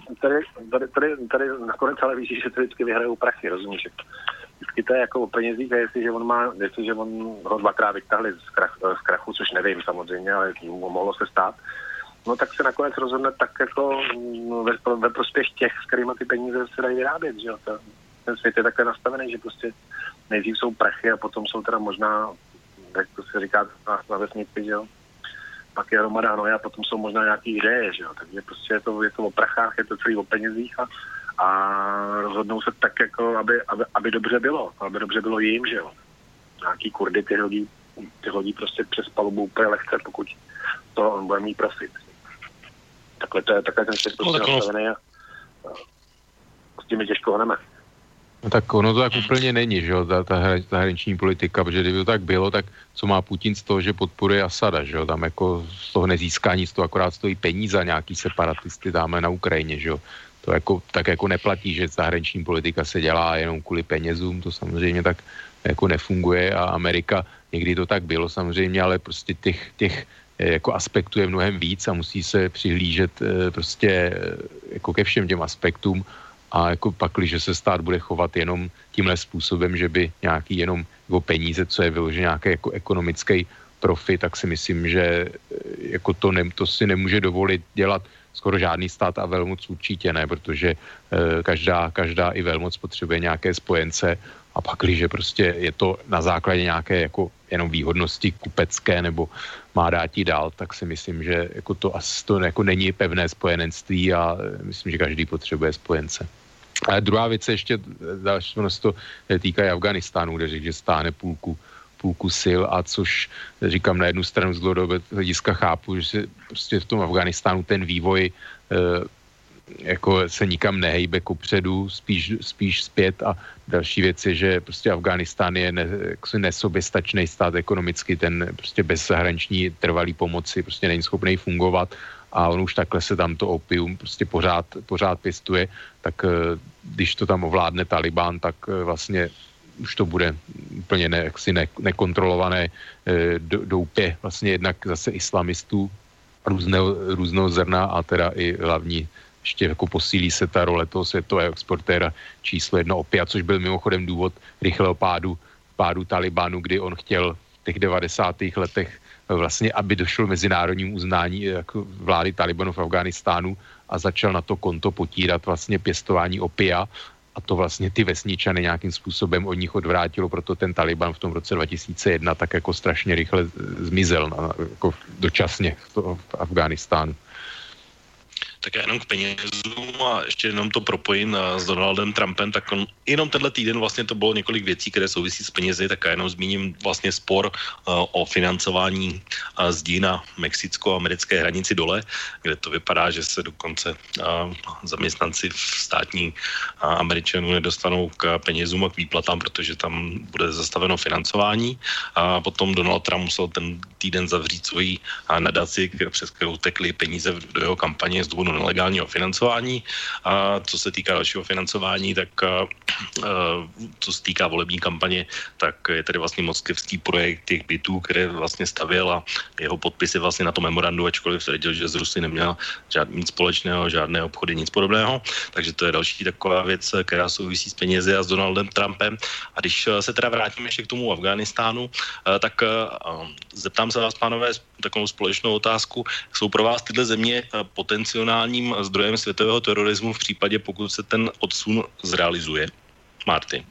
Tady nakonec ale víš, že to vždycky vyhrajou prachy, rozumíš? Vždycky to je jako o penězích a jestliže on ho dvakrát vytáhli z krachu, což nevím samozřejmě, ale mohlo se stát, no tak se nakonec rozhodne tak jako ve prospěch těch, s kterými ty peníze se dají vyrábět, že jo? Ten svět je takhle nastavený, že prostě nejdřív jsou prachy a potom jsou teda možná, jak to se říká na vesnici, že jo? Pak je hromada hnoje a potom jsou možná nějaký ideje, že jo? Takže prostě je to o prachách, je to celý o penězích a rozhodnou se tak jako, aby dobře bylo jim, že jo? Nějaký Kurdy ty hodí prostě přes palubu úplně lehce, pokud to on bude mít profit. Takhle ten svět prostě nastavený a s tím je těžko hneme. No tak ono to tak úplně není, že jo, ta zahraniční politika, protože kdyby to tak bylo, tak co má Putin z toho, že podporuje Asada, že jo, tam jako z toho nezíská nic, to akorát stojí peníze a nějaký separatisty dáme na Ukrajině, že jo. To jako, tak jako neplatí, že zahraniční politika se dělá jenom kvůli penězům, to samozřejmě tak jako nefunguje a Amerika, někdy to tak bylo samozřejmě, ale prostě těch jako aspektů je mnohem víc a musí se přihlížet prostě jako ke všem těm aspektům a jako pakli, že se stát bude chovat jenom tímhle způsobem, že by nějaký jenom jako peníze, co je vyložené nějaký jako ekonomický profit, tak si myslím, že jako to si nemůže dovolit dělat skoro žádný stát a velmoc určitě ne, protože každá i velmoc potřebuje nějaké spojence a pakli, že prostě je to na základě nějaké jako jenom výhodnosti kupecké nebo má dát jí dál, tak si myslím, že jako to jako není pevné spojenectví a myslím, že každý potřebuje spojence. A druhá věc ještě, další se to týká Afghánistánu, kde řekl, že stáhne půlku sil a což říkám na jednu stranu z dlouhodobého hlediska chápu, že se prostě v tom Afghánistánu ten vývoj jako se nikam nehejbe kupředu, spíš zpět a další věc je, že prostě Afghánistán je nesoběstačný stát ekonomicky, ten prostě bez zahraniční trvalý pomoci prostě není schopný fungovat a on už takhle se tam to opium prostě pořád pěstuje, tak když to tam ovládne Taliban, tak vlastně už to bude úplně nekontrolované doupě vlastně jednak zase islamistů různého zrna a teda i hlavní ještě jako posílí se ta role toho světového exportéra číslo 1 opia, což byl mimochodem důvod rychlého pádu Talibanu, kdy on chtěl v těch 90. letech vlastně, aby došlo mezinárodnímu uznání jako vlády Talibanu v Afghánistánu a začal na to konto potírat vlastně pěstování opia a to vlastně ty vesničany nějakým způsobem od nich odvrátilo, proto ten Taliban v tom roce 2001 tak jako strašně rychle zmizel jako dočasně v Afghánistánu. Tak já jenom k penězům a ještě jenom to propojím s Donaldem Trumpem, tak jenom tenhle týden vlastně to bylo několik věcí, které souvisí s penězi, tak já jenom zmíním vlastně spor o financování zdí na mexicko-americké hranici dole, kde to vypadá, že se dokonce zaměstnanci v státní Američanů nedostanou k penězům a k výplatám, protože tam bude zastaveno financování. A potom Donald Trump musel ten týden zavřít svoji nadaci, přes kterou tekly peníze do jeho kampaně z důvodu nelegálního financování. A co se týká dalšího financování, tak co se týká volební kampaně, tak je tady vlastně moskevský projekt těch bytů, které vlastně stavěl a jeho podpis je vlastně na tom memorandu, ačkoliv tvrdil, že z Rusy neměl nic společného, žádné obchody, nic podobného. Takže to je další taková věc, která souvisí s penězi a s Donaldem Trumpem. A když se teda vrátíme ještě k tomu Afghánistánu, tak zeptám se vás, pánové, takovou společnou otázku. Jsou pro vás tyhle země potenciálním zdrojem světového terorismu v případě, pokud se ten odsun zrealizuje? Martin.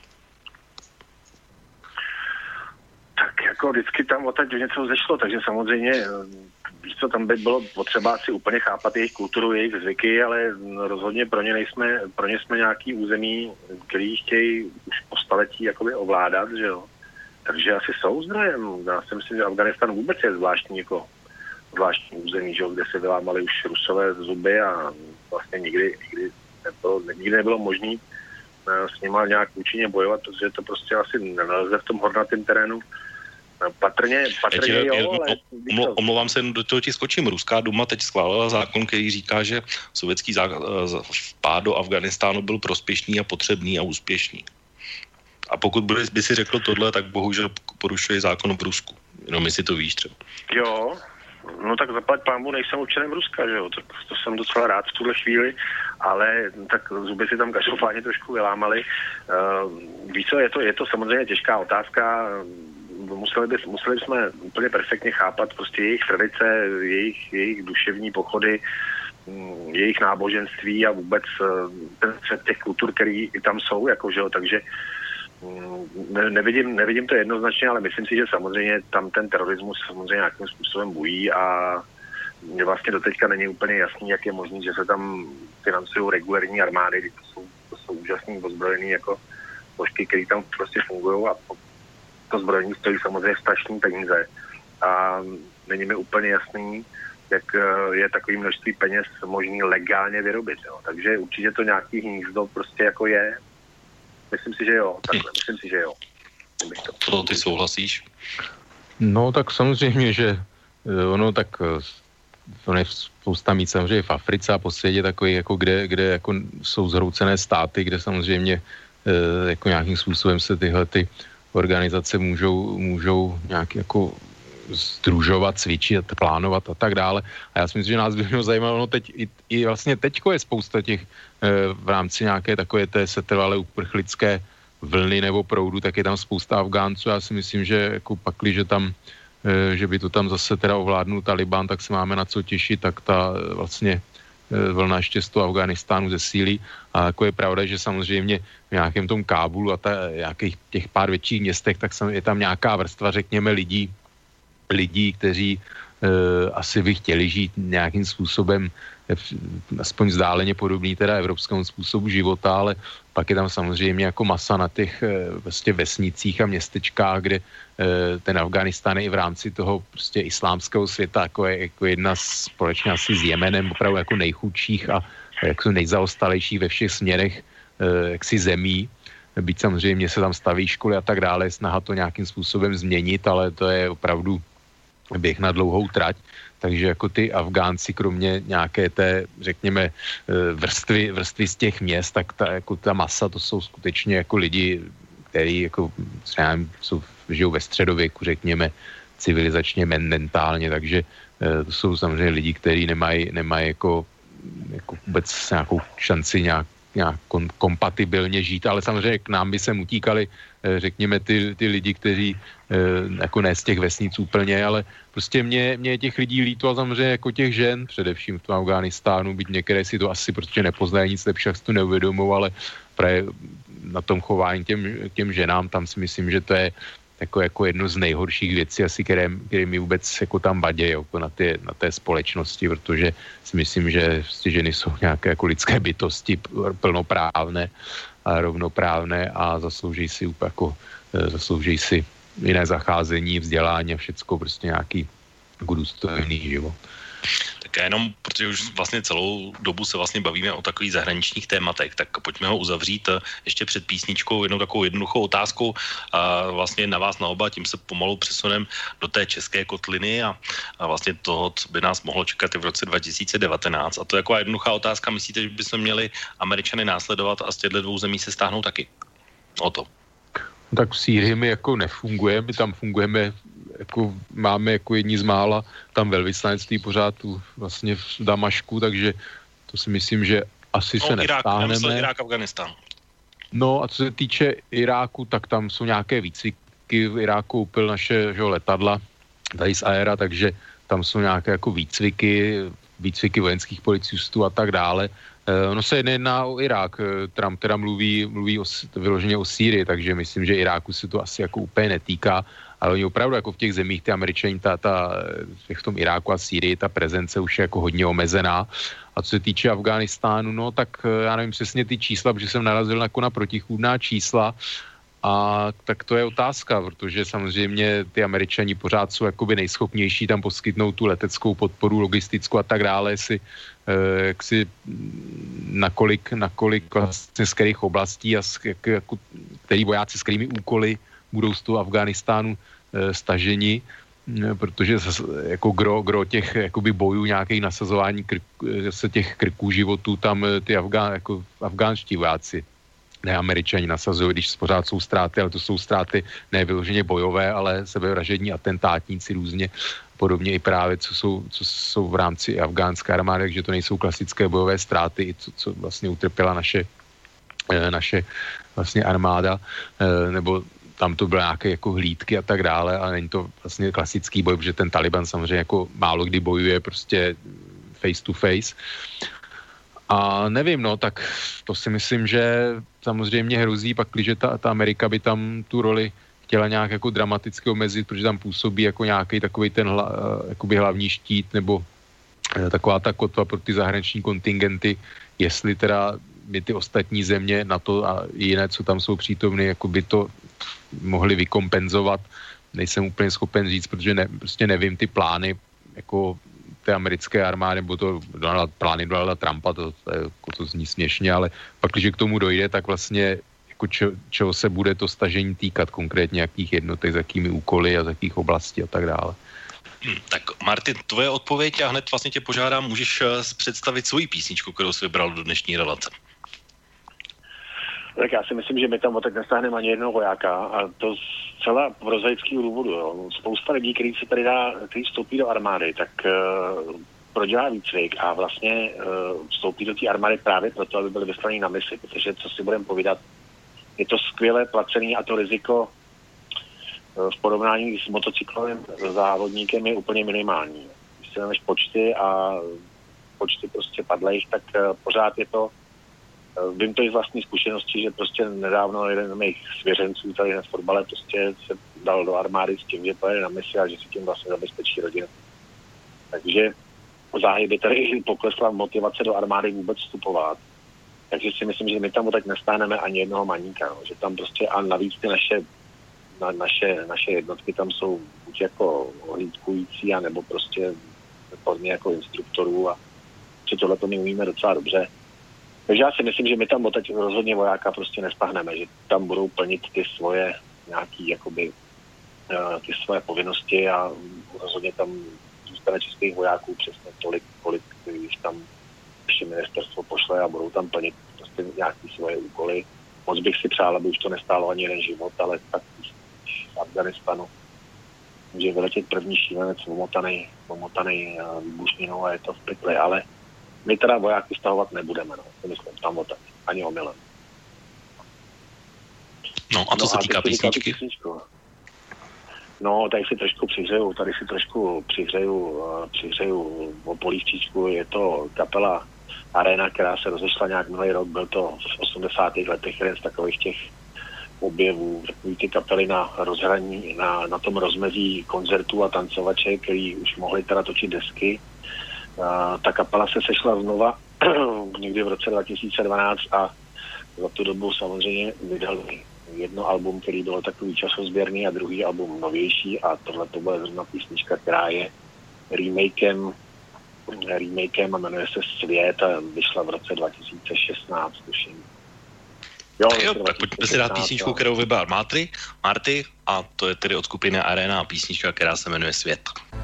Tak jako vždycky tam odtaď něco zešlo, takže samozřejmě, víš co, tam by bylo potřeba si úplně chápat jejich kulturu, jejich zvyky, ale rozhodně pro ně jsme nějaký území, který chtějí už po staletí jakoby ovládat, že jo. Takže asi jsou zdrojem. Já si myslím, že Afghánistán vůbec je zvláštní území, že jo, kde se vylámali už Rusové zuby a vlastně nikdy nebylo možné s nima nějak účinně bojovat, protože to prostě asi nelze v tom hornatém terénu. Patrně omlouvám se, do toho ti skočím. Ruská duma teď schválila zákon, který říká, že sovětský vpád do Afghánistánu byl prospěšný a potřebný a úspěšný. A pokud by si řekl tohle, tak bohužel porušuje zákon v Rusku. Jenom jestli to víš třeba. Jo, no tak zaplať pánbu, nejsem občanem Ruska, že jo, to jsem docela rád v tuhle chvíli, ale tak zuby si tam každopádně trošku vylámali. Víš co, je to samozřejmě těžká otázka. Museli jsme úplně perfektně chápat prostě jejich tradice, jejich duševní pochody, jejich náboženství a vůbec ten střed těch kultur, který tam jsou, jako, že jo, takže nevidím to jednoznačně, ale myslím si, že samozřejmě tam ten terorismus samozřejmě nějakým způsobem bují a mě vlastně doteďka není úplně jasný, jak je možný, že se tam financují regulární armády, to jsou úžasný ozbrojený jako složky, které tam prostě fungují a to zbrojení stojí samozřejmě strašný peníze a není mi úplně jasný, jak je takový množství peněz možný legálně vyrobit, jo. Takže určitě to nějaký hnízdo prostě jako je. Myslím si, že jo. To ty souhlasíš? No tak samozřejmě, že ono tak ono je spousta míst samozřejmě v Africe a po světě takový, jako kde jako jsou zhroucené státy, kde samozřejmě jako nějakým způsobem se tyhle ty organizace můžou nějak jako sdružovat, cvičit, plánovat a tak dále. A já si myslím, že nás by mělo zajímalo, no teď i vlastně teďko je spousta těch v rámci nějaké takové té setrvalé uprchlické vlny nebo proudu, tak je tam spousta Afgánců. Já si myslím, že jako pakli, že tam, že by to tam zase teda ovládnul Taliban, tak se máme na co těšit, tak ta vlastně vlna ještě z toho Afghánistánu zesílí. A jako je pravda, že samozřejmě v nějakém tom Kábulu a nějakých těch pár větších městech, tak je tam nějaká vrstva, řekněme, lidí, kteří asi by chtěli žít nějakým způsobem aspoň vzdáleně podobný teda evropskému způsobu života, ale pak je tam samozřejmě jako masa na těch vlastně vesnicích a městečkách, kde ten Afghánistán je i v rámci toho prostě islámského světa jako jedna společně asi s Jemenem opravdu jako nejchudších a jako nejzaostalejších ve všech směrech jaksi zemí. Byť samozřejmě se tam staví školy a tak dále, snaha to nějakým způsobem změnit, ale to je opravdu běh na dlouhou trať. Takže jako ty Afgánci, kromě nějaké té, řekněme, vrstvy z těch měst, tak ta masa, to jsou skutečně jako lidi, kteří jako žijou ve středověku, řekněme, civilizačně, mentálně, takže to jsou samozřejmě lidi, kteří nemají jako vůbec nějakou šanci nějak kompatibilně žít, ale samozřejmě k nám by se utíkali, řekněme, ty lidi, kteří jako ne z těch vesnic úplně, ale prostě mě je těch lidí líto a samozřejmě jako těch žen, především v tom Afghánistánu, byť některé si to asi prostě nepoznají, nic lepšího si to neuvědomou, ale právě na tom chování těm ženám, tam si myslím, že to je jako jedno z nejhorších věcí asi, které mi vůbec jako tam vadí jako na té společnosti, protože si myslím, že ženy jsou nějaké jako lidské bytosti plnoprávné a rovnoprávné a zaslouží si jiné zacházení, vzdělání a všecko, prostě nějaký jako důstojný život. Tak jenom, protože už vlastně celou dobu se vlastně bavíme o takových zahraničních tématech, tak pojďme ho uzavřít ještě před písničkou jednou takovou jednoduchou otázkou a vlastně na vás na oba, tím se pomalu přesunem do té české kotliny a vlastně toho, co by nás mohlo čekat i v roce 2019. A to je taková jednoduchá otázka, myslíte, že bychom měli Američany následovat a z těchto dvou zemí se stáhnout taky? O to. Tak v Sýrii my jako nefungujeme, my tam fungujeme, jako máme jako jedni z mála tam velvyslanectví pořád tu vlastně v Damašku, takže to si myslím, že asi se nestáhneme. Irák, Afganistán. No a co se týče Iráku, tak tam jsou nějaké výcviky, v Iráku koupil naše letadla tady z Aera, takže tam jsou nějaké jako výcviky vojenských policistů a tak dále. Ono se nejedná o Irák, Trump teda mluví vyloženě o Sýrii, takže myslím, že Iráku se to asi jako úplně netýká, ale oni opravdu jako v těch zemích, ty Američani, v tom Iráku a Sýrii, ta prezence už je jako hodně omezená. A co se týče Afghánistánu, no tak já nevím přesně ty čísla, protože jsem narazil jako na protichůdná čísla, a tak to je otázka, protože samozřejmě ty Američani pořád jsou jakoby nejschopnější tam poskytnout tu leteckou podporu, logistickou a tak dále, nakolik vlastně z kterých oblastí a který vojáci s kterými úkoly budou z toho Afghánistánu staženi, protože jako gro těch jakoby bojů, nějakých nasazování těch krků životů tam ty afgánští vojáci, ne Američani nasazují, když pořád jsou ztráty, ale to jsou ztráty ne vyloženě bojové, ale sebevražední atentátníci různě, podobně i právě, co jsou v rámci afgánské armády, takže to nejsou klasické bojové ztráty, co vlastně utrpěla naše vlastně armáda, nebo tam to byly nějaké jako hlídky a tak dále, ale není to vlastně klasický boj, protože ten Taliban samozřejmě jako málo kdy bojuje prostě face to face. A nevím, no, tak to si myslím, že samozřejmě hrozí, pakliže ta Amerika by tam tu roli chtěla nějak jako dramaticky omezit, protože tam působí jako nějaký takový ten jakoby hlavní štít, nebo taková ta kotva pro ty zahraniční kontingenty, jestli teda by ty ostatní země na to a jiné, co tam jsou přítomny, jako by to mohli vykompenzovat. Nejsem úplně schopen říct, protože prostě nevím ty plány, jako té americké armády, nebo to plány Donalda Trumpa, to zní směšně, ale pak, když k tomu dojde, tak vlastně jako čeho se bude to stažení týkat, konkrétně jakých jednotek, s jakými úkoly a z jakých oblastí a tak dále. Tak Martin, tvoje odpověď a hned vlastně tě požádám, můžeš představit svoji písničku, kterou jsi vybral do dnešní relace. Tak já si myslím, že my tam teď nestáhneme ani jednoho vojáka a to zcela prozaického důvodu. Jo. Spousta lidí, kteří vstoupí do armády, tak prodělá výcvik a vlastně vstoupí do té armády právě proto, aby byli vyslaní na misi, protože co si budeme povídat, je to skvěle placený a to riziko v porovnání s motocyklovým závodníkem je úplně minimální. Když si vezmeš počty prostě padlejch, tak pořád je to. Vím to i z vlastní zkušenosti, že prostě nedávno jeden z mých svěřenců tady na fotbale prostě se dal do armády s tím, že pojede na misi a že si tím vlastně zabezpečí rodinu. Takže záhy by tady poklesla motivace do armády vůbec vstupovat. Takže si myslím, že my tam teď nestáhneme ani jednoho maníka, no. Že tam prostě a navíc ty naše jednotky tam jsou buď jako hlídkující, anebo prostě formě jako instruktorů a že tohle to my umíme docela dobře. Takže já si myslím, že my tam teď rozhodně vojáka prostě nestáhneme, že tam budou plnit ty svoje nějaký jakoby ty svoje povinnosti a rozhodně tam zůstane českých vojáků přesně tolik, kolik když tam ještě ministerstvo pošle a budou tam plnit prostě nějaký svoje úkoly. Moc bych si přál, aby už to nestálo ani jeden život, ale tak v Afganistanu může vyletět první šílenec omotanej výbušninou a je to v pytli, ale my teda vojáky stahovat nebudeme, no. To myslím, tam otak, ani omylem. No a co se týká písničky? No, tady si trošku přihřeju o polívčičku, je to kapela Arena, která se rozešla nějak minulý rok, byl to v 80. letech jeden z takových těch objevů, takový ty kapely na rozhraní, na tom rozmezí koncertů a tancovače, který už mohli teda točit desky. Ta kapela se sešla znova někdy v roce 2012 a za tu dobu samozřejmě vydali jedno album, který bylo takový časozběrný a druhý album novější a tohle to bude zrovna písnička, která je remakem a jmenuje se Svět a vyšla v roce 2016, tuším. Jo, tak pojďme si dát písničku, kterou vybral Marty a to je tedy od skupiny Arena písnička, která se jmenuje Svět.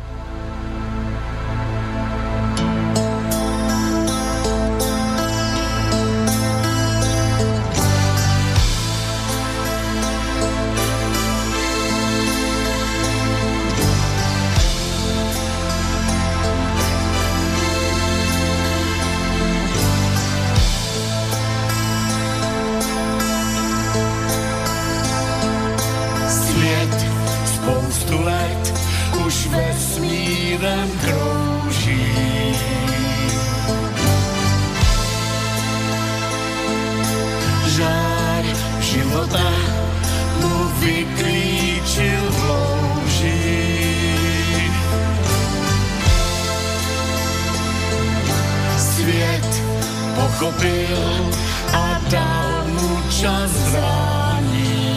A dal mu čas zrání.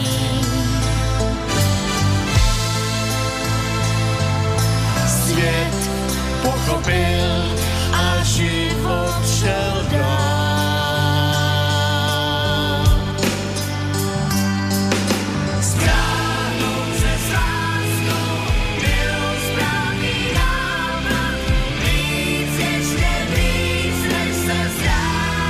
Svět pochopil a život šel dál. Zbráhnou se s láskou, byl správný návrat, víc ještě víc, než se zdá.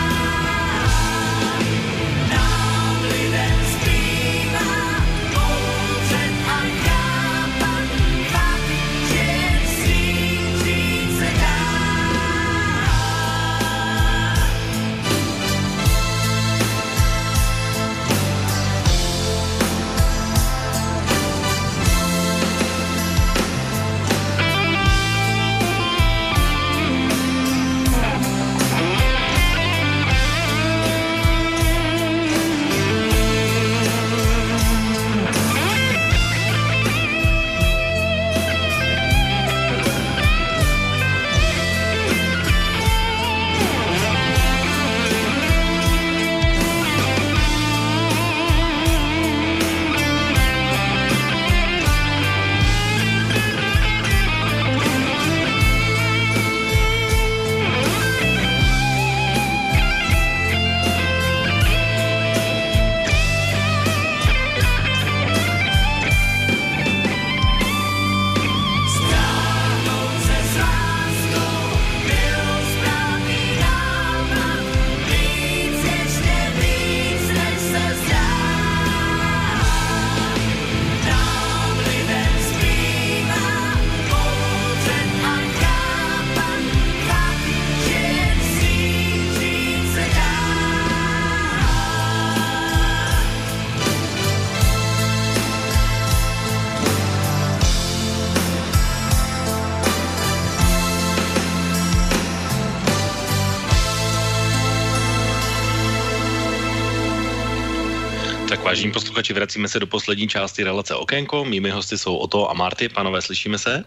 Vážení posluchači, vracíme se do poslední části relace Okénko. Mými hosty jsou Oto a Marty. Pánové, slyšíme se?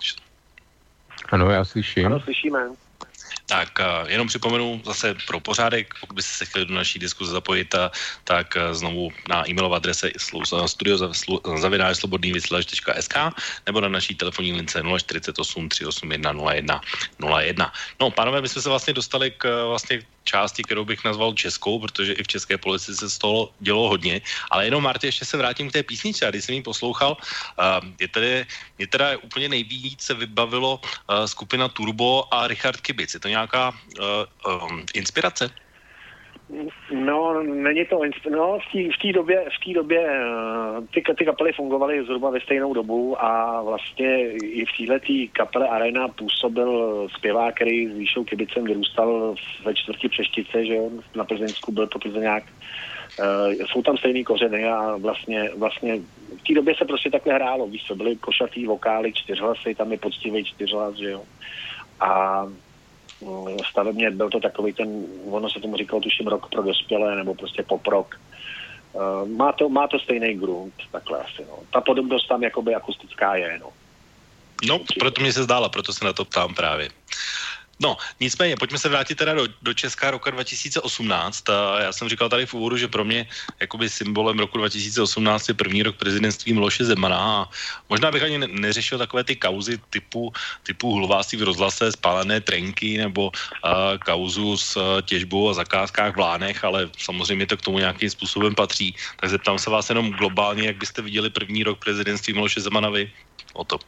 Ano, já slyším. Ano, slyšíme. Tak jenom připomenu zase pro pořádek, pokud byste se chtěli do naší diskuze zapojit, tak znovu na e-mailové adrese studio@slobodnyvysielac.sk nebo na naší telefonní lince 048 381 0101. No, pánové, my jsme se vlastně dostali k části, kterou bych nazval českou, protože i v české politice se z toho dělo hodně, ale jenom, Marty, ještě se vrátím k té písničce. A když jsem ji poslouchal, mě teda úplně nejvíc se vybavilo skupina Turbo a Richard Kibic. Je to nějaká inspirace? No, není to v té době ty kapely fungovaly zhruba ve stejnou dobu a vlastně i v téhletý kapele Arena působil zpěvák, který s Výšou Kibicem vyrůstal ve čtvrti Přeštice, že jo, na Plzeňsku byl to Plzeňák. Jsou tam stejný kořeny a vlastně v té době se prostě takhle hrálo, víš co, byly košatý vokály, 4 hlasy, tam je poctivý 4 hlas, že jo. A stavebně byl to takový ten, ono se tomu říkalo tuším rock pro dospělé, nebo prostě pop rock. Má to stejný grunt, takhle asi, no. Ta podobnost tam jakoby akustická je, no. No, proto mě se zdála, proto se na to ptám právě. No, nicméně, pojďme se vrátit teda do Česka roka 2018. Já jsem říkal tady v úvodu, že pro mě jakoby symbolem roku 2018 je první rok prezidentství Miloše Zemana a možná bych ani neřešil takové ty kauzy typu hulváství v rozhlase, spálené trenky nebo kauzu s těžbou a zakázkách v Lánech, ale samozřejmě to k tomu nějakým způsobem patří. Tak zeptám se vás jenom globálně, jak byste viděli první rok prezidentství Miloše Zemana vy o to.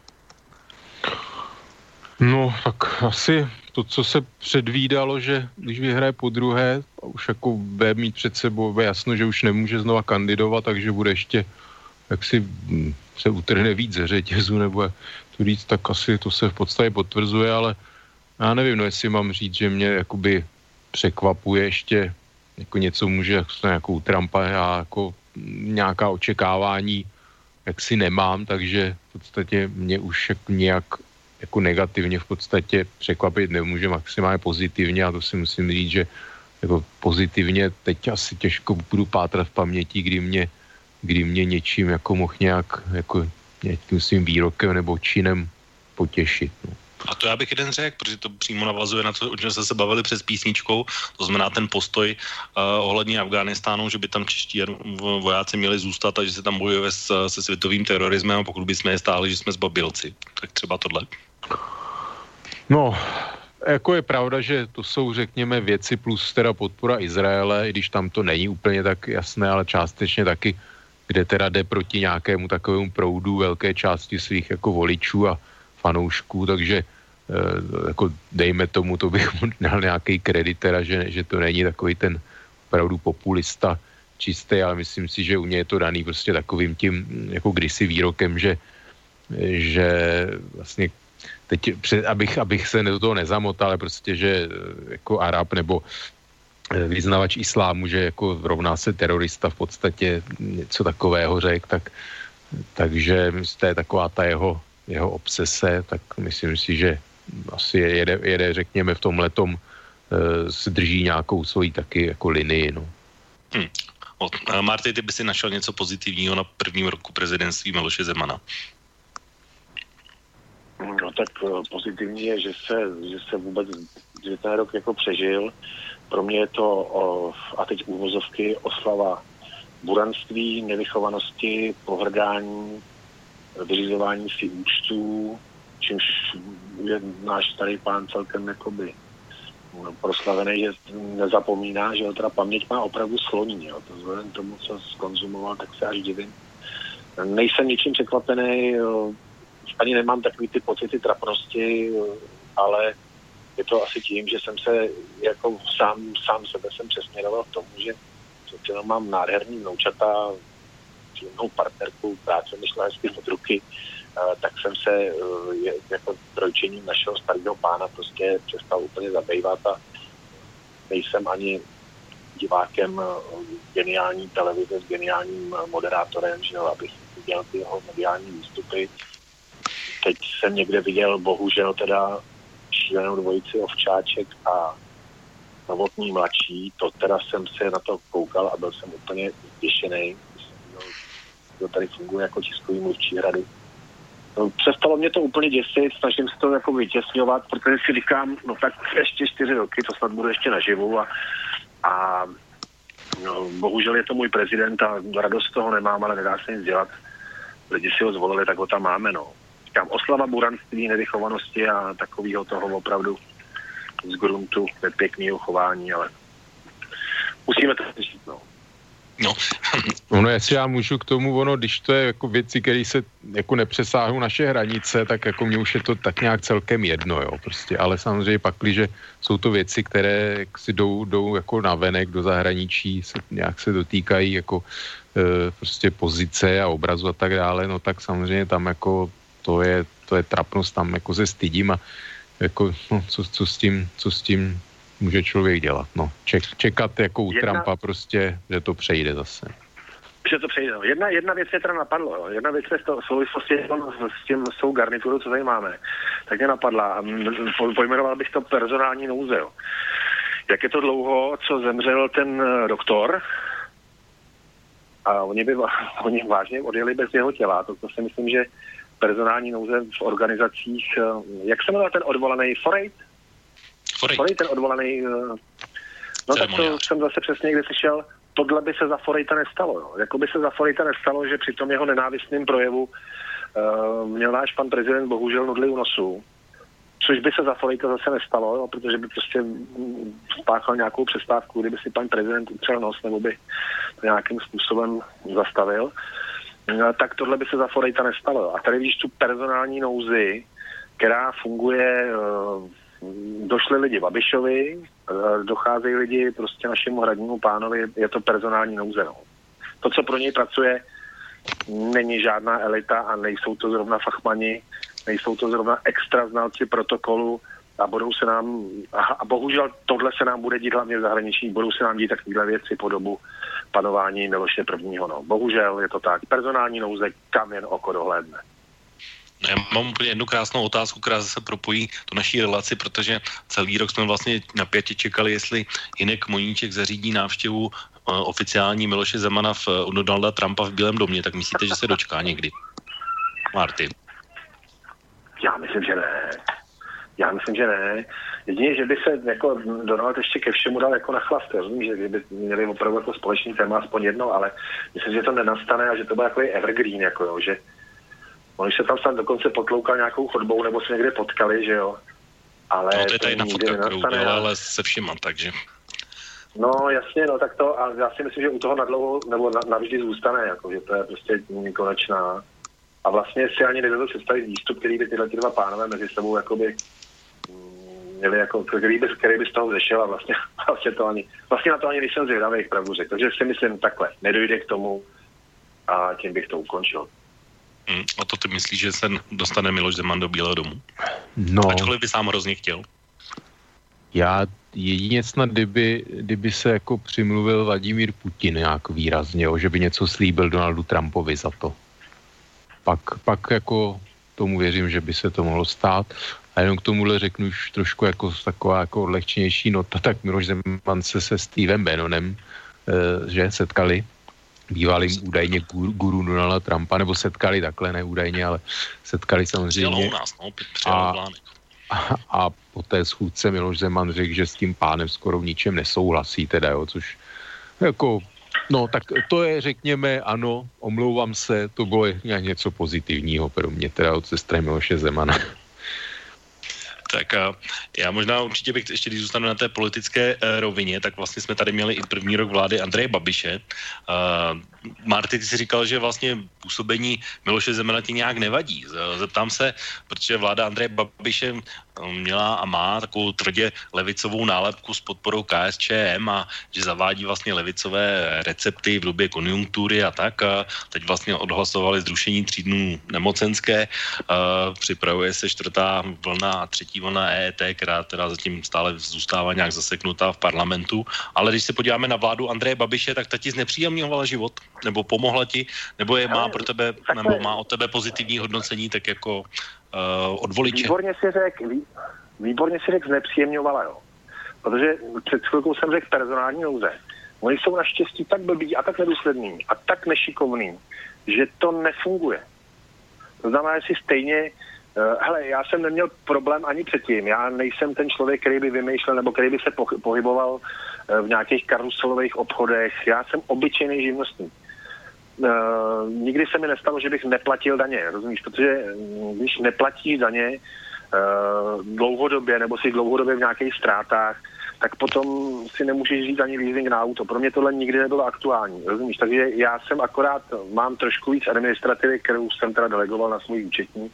No, tak asi to, co se předvídalo, že když vyhraje podruhé, už jako bude mít před sebou jasno, že už nemůže znova kandidovat, takže bude ještě, jak si se utrhne víc ze řetězu, nebo jak to říct, tak asi to se v podstatě potvrzuje, ale já nevím, no jestli mám říct, že mě jakoby překvapuje ještě, jako něco může, jako u Trumpa, já jako nějaká očekávání jak si nemám, takže v podstatě mě už nějak jako negativně v podstatě překvapit nemůže, maximálně pozitivně, a to si musím říct, že jako pozitivně teď asi těžko budu pátrat v paměti, kdy mě něčím jako mohl nějak jako nějakým svým výrokem nebo činem potěšit. No. A to já bych jeden řekl, protože to přímo navazuje na to, o čem jsme se bavili před písničkou, to znamená ten postoj ohledně Afghánistánu, že by tam čeští vojáci měli zůstat a že se tam bojuje se světovým terorismem, a pokud by jsme je stáli, že jsme zbabilci. Tak třeba tohle. No, jako je pravda, že to jsou, řekněme, věci plus teda podpora Izraele, i když tam to není úplně tak jasné, ale částečně taky, kde teda jde proti nějakému takovému proudu velké části svých jako voličů a fanoušků, takže jako dejme tomu, to bych měl nějaký kredit teda, že to není takový ten opravdu populista čistý, ale myslím si, že u mě je to daný prostě takovým tím jako kdysi výrokem, že vlastně teď, abych se do toho nezamotal, ale prostě, že jako Arab nebo vyznavač islámu, že jako rovná se terorista v podstatě něco takového řekl, takže to je taková ta jeho obsese, tak myslím si, že asi jede řekněme v tomhletom se drží nějakou svoji taky jako linii, no. Marty, ty by si našel něco pozitivního na prvním roku prezidentství Miloše Zemana? No tak pozitivní je, že se vůbec, že ten rok jako přežil. Pro mě je to, a teď úvozovky, oslava buranství, nevychovanosti, pohrdání, vyřizování si účtů, čímž je náš starý pán celkem jakoby proslavený, že nezapomíná, že ho teda paměť má opravdu sloní, jo. To vzhledem tomu, co zkonzumoval, tak se až divím. Nejsem ničím překvapený, ani nemám takový ty pocity trapnosti, ale je to asi tím, že jsem se jako sám sebe jsem přesměroval k tomu, že mám nádherný vnoučata, příjemnou partnerku, práce mi šla hezky od ruky, tak jsem se jako trojčením našeho starého pána prostě přestal úplně zabývat a nejsem ani divákem geniální televize s geniálním moderátorem, že jo, abych viděl ty jeho mediální výstupy. Teď jsem někde viděl, bohužel teda šílenou dvojici Ovčáček a Novotný mladší, to teda jsem se na to koukal a byl jsem úplně zděšený. To tady funguje jako tiskový mluvčí Hrady. No, přestalo mě to úplně děsit, snažím se to jako vytěsňovat, protože si říkám, no tak ještě 4 roky, to snad budu ještě naživu a no, bohužel je to můj prezident a radost toho nemám, ale nedá se nic dělat. Lidi si ho zvolili, tak ho tam máme, no. Říkám, oslava buranství, nevychovanosti a takového toho opravdu z gruntu nepěkného chování, ale musíme to řešit, no. No, jestli já můžu k tomu, když to je jako věci, které se jako nepřesáhnou naše hranice, tak jako mně už je to tak nějak celkem jedno, jo, prostě, ale samozřejmě pakliže jsou to věci, které si jdou jako navenek do zahraničí, nějak se dotýkají jako prostě pozice a obrazu a tak dále, no tak samozřejmě tam jako to je trapnost, tam jako se stydím a jako, no, co s tím může člověk dělat, no. Čekat jako u Trumpa prostě, že to přejde zase. Že to přejde, no. Jedna věc mě teda napadlo, jo. Jedna věc v souvislosti s tou garniturou, co tady máme, tak mě napadla. Pojmenoval bych to personální nouze, jo. Jak je to dlouho, co zemřel ten doktor, a oni vážně odjeli bez jeho těla. To si myslím, že personální nouze v organizacích, jak se jmenuje ten odvolaný Forejt, ten odvolaný, no tak to jsem zase přesně někde slyšel, tohle by se za Forejta nestalo. Jo. Jako by se za Forejta nestalo, že při tom jeho nenávistném projevu měl náš pan prezident bohužel nudli u nosu, což by se za Forejta zase nestalo, jo, protože by prostě spáchal nějakou přestávku, kdyby si pan prezident utřel nos, nebo by to nějakým způsobem zastavil, tak tohle by se za Forejta nestalo. Jo. A tady vidíš tu personální nouzi, která funguje, došli lidi Babišovi, docházejí lidi prostě našemu hradnímu pánovi, je to personální nouze. No. To, co pro něj pracuje, není žádná elita a nejsou to zrovna fachmani, nejsou to zrovna extra znalci protokolu a budou se nám, a bohužel tohle se nám bude dít hlavně v zahraničí, budou se nám dít takovéhle věci po dobu panování Miloše I. No. Bohužel je to tak. Personální nouze, kam jen oko dohlédne. Já mám úplně jednu krásnou otázku, která zase propojí tu naší relaci, protože celý rok jsme vlastně napětě čekali, jestli Hynek Moníček zařídí návštěvu oficiální Miloše Zemana u Donalda Trumpa v Bílém domě, tak myslíte, že se dočká někdy? Martin. Já myslím, že ne. Jedině, že by se jako Donald ještě ke všemu dal jako na chlast. Rozumím, že kdyby měli opravdu jako společný téma aspoň jedno, ale myslím, že to nenastane a že to bude takový evergreen, jako jo, že on se tam snad dokonce potloukal nějakou chodbou nebo se někde potkali, že jo. Ale no, to je ta jedna fotka, kterou dělala, ale se všima, takže... No jasně, no tak to, a já si myslím, že u toho nadlouho, nebo navždy zůstane, jako, že to je prostě nekonečná. A vlastně si ani nedovedu představit výstup, který by tyhle dva pánové mezi sebou jakoby měli jako, který by z toho vzešel a vlastně na to ani nejsem zvědavý, pravdu řekl. Takže si myslím takhle, nedojde k tomu a tím bych to ukončil. A to ty myslíš, že se dostane Miloš Zeman do Bílého domu? No. Ačkoliv by sám hrozně chtěl. Já jedině snad, kdyby se jako přimluvil Vladimír Putin nějak výrazně, že by něco slíbil Donaldu Trumpovi za to. Pak jako tomu věřím, že by se to mohlo stát. A jenom k tomuhle řeknu už trošku jako taková jako odlehčenější nota, tak Miloš Zeman se Stevem Bannonem, že setkali, bývalým údajně guru Donalda Trumpa, nebo setkali takhle, ne údajně, ale setkali samozřejmě. A po té schůdce Miloš Zeman řekl, že s tím pánem skoro v ničem nesouhlasí, teda jo, což jako, no tak to je, řekněme, ano, omlouvám se, to bylo něco pozitivního pro mě, teda od ze strany Miloše Zemana. Tak já možná určitě bych ještě, když zůstanu na té politické rovině, tak vlastně jsme tady měli i první rok vlády Andreje Babiše. Marty, ty si říkal, že vlastně působení Miloše Zemana ti nějak nevadí. Zeptám se, protože vláda Andreje Babiše měla a má takovou tvrdě levicovou nálepku s podporou KSČM a že zavádí vlastně levicové recepty v době konjunktury a tak. A teď vlastně odhlasovali zrušení 3 dnů nemocenské. Připravuje se 4. vlna a 3. vlna EET, která teda zatím stále zůstává nějak zaseknutá v parlamentu. Ale když se podíváme na vládu Andreje Babiše, tak ta ti znepříjemňovala život? Nebo pomohla ti? Nebo má pro tebe, nebo má od tebe pozitivní hodnocení, tak jako od voliče? Výborně si řekl, znepříjemňovala, jo. Protože před chvilkou jsem řekl personální nouze. Oni jsou naštěstí tak blbí a tak nedůslední a tak nešikovní, že to nefunguje. To znamená, že si stejně, hele, já jsem neměl problém ani předtím. Já nejsem ten člověk, který by vymýšlel nebo který by se pohyboval v nějakých karuselových obchodech. Já jsem obyčejný živnostník. Nikdy se mi nestalo, že bych neplatil daně, rozumíš? Protože když neplatíš daně dlouhodobě nebo si dlouhodobě v nějakých ztrátách, tak potom si nemůžeš říct ani leasing na auto. Pro mě tohle nikdy nebylo aktuální, rozumíš? Takže já jsem akorát, mám trošku víc administrativy, kterou jsem teda delegoval na svůj účetní,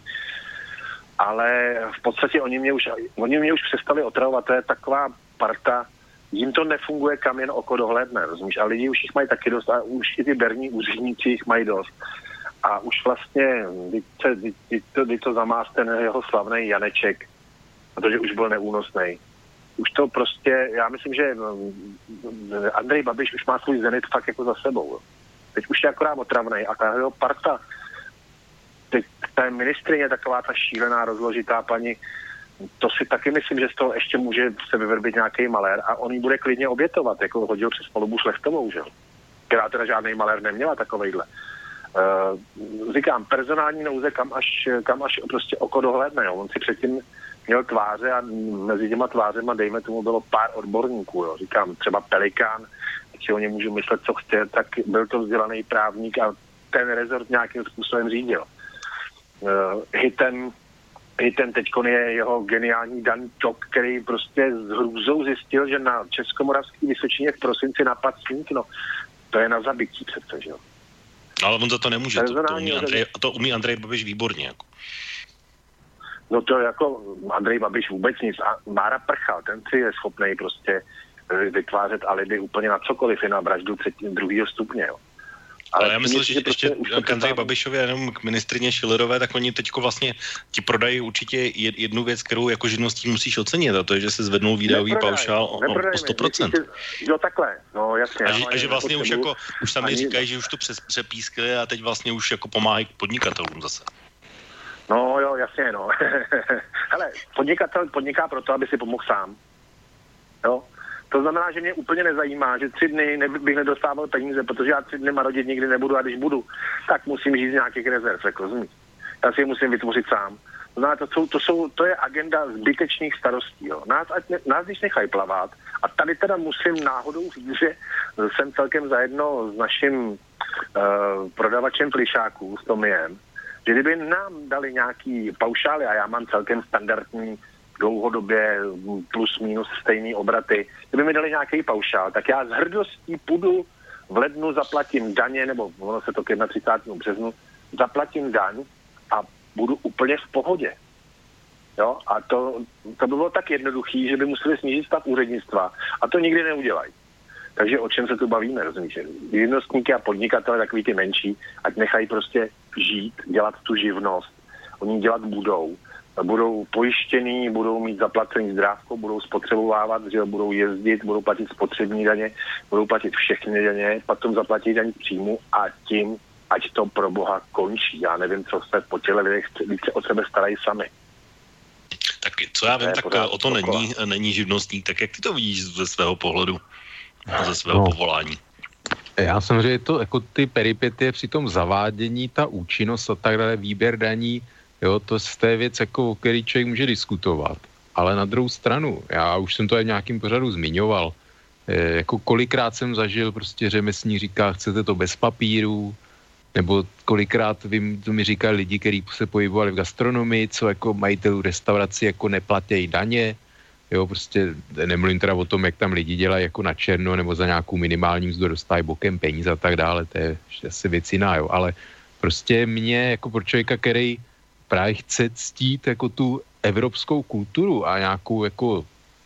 ale v podstatě oni mě už přestali otravovat, to je taková parta, jim to nefunguje, kam jen oko dohlédne, rozumíš? A lidi už jich mají taky dost a už i ty berní úředníci jich mají dost. A už vlastně, když to zamás ten jeho slavný Janeček, protože už byl neúnosný. Už to prostě, já myslím, že Andrej Babiš už má svůj zenit fakt jako za sebou. Teď už je akorát otravnej a ta jeho parta, teď ta ministryně taková ta šílená, rozložitá paní, to si taky myslím, že z toho ještě může se vyvrbit nějaký malér a on ji bude klidně obětovat, jako hodil přes palubu Šlechtovou, že? která teda žádný malér neměla takovejhle. Říkám, personální nouze, kam až prostě oko dohlédne. Jo. On si předtím měl tváře a mezi těma tvářema, dejme tomu, bylo pár odborníků. Jo. Říkám, třeba Pelikán, si o něm můžu myslet, co chce, tak byl to vzdělaný právník a ten rezort nějakým způsobem řídil. Hitem teďkon je jeho geniální Dan Ťok, který prostě s hrůzou zjistil, že na Českomoravský Vysočině v prosinci napadl sníh. No, to je na zabití přece, že jo. Ale on za to nemůže, to umí Andrej Babiš výborně. Jako. No to jako Andrej Babiš vůbec nic. A Mára Prchal, ten si je schopnej prostě vytvářet alibi úplně na cokoliv, i na vraždu 2. stupně, jo. Ale já myslím, že ještě k Andreji Babišovi a jenom k ministrině Schillerové, tak oni teďko vlastně ti prodají určitě jednu věc, kterou jako živnostník musíš ocenit, a to je, že se zvednul výdajový paušál o 100%. Jo, takhle, no jasně. A že vlastně už sami říkají, že už to přepískli a teď vlastně už jako pomáhají podnikatelům zase. No jo, jasně, no. Hele, podnikatel podniká proto, aby si pomohl sám. Jo. To znamená, že mě úplně nezajímá, že 3 dny bych nedostával peníze, protože já 3 dny marodit nikdy nebudu a když budu, tak musím žít z nějakých rezerv, jako rozumíš. Já si je musím vytvořit sám. To znamená, to je agenda zbytečných starostí. Jo. Nás když nechají plavat, a tady teda musím náhodou říct, že jsem celkem zajedno s naším prodavačem plišáků, s Tomiem, že kdyby nám dali nějaký paušály, a já mám celkem standardní dlouhodobě plus minus stejný obraty, kdyby mi dali nějaký paušál, tak já s hrdostí půjdu v lednu, zaplatím daně, nebo ono se to k 31. březnu, zaplatím daň a budu úplně v pohodě. Jo? A to by bylo tak jednoduchý, že by museli snížit stav úřednictva a to nikdy neudělají. Takže o čem se tu bavíme, rozumíš? Živnostníky a podnikatele, takový ty menší, ať nechají prostě žít, dělat tu živnost. Oni dělat budou pojištěný, budou mít zaplacený zdrávko, budou spotřebovávat, že budou jezdit, budou platit spotřební daně, budou platit všechny daně, potom zaplatí daň příjmu a tím, ať to pro boha končí. Já nevím, co se po těle lidech více o sebe starají sami. Tak co já vím, tak o to není živnostník. Tak jak ty to vidíš ze svého pohledu a ze svého povolání? Já samozřejmě to, jako ty peripetie při tom zavádění, ta účinnost a tak dále, výběr daní, jo, to je věc, jako, o který člověk může diskutovat. Ale na druhou stranu, já už jsem to v nějakým pořadu zmiňoval, jako kolikrát jsem zažil, prostě řemeslník říká, chcete to bez papíru, nebo kolikrát to mi říkají lidi, kteří se pohybovali v gastronomii, co jako majitelů restaurací jako neplatí daně, jo, prostě nemluvím teda o tom, jak tam lidi dělají jako na černo, nebo za nějakou minimální mzdu dostávají bokem peníze a tak dále, to je asi věc jiná, jo, ale prostě mě jako pro člověka, který právě chce ctít jako tu evropskou kulturu a nějakou jako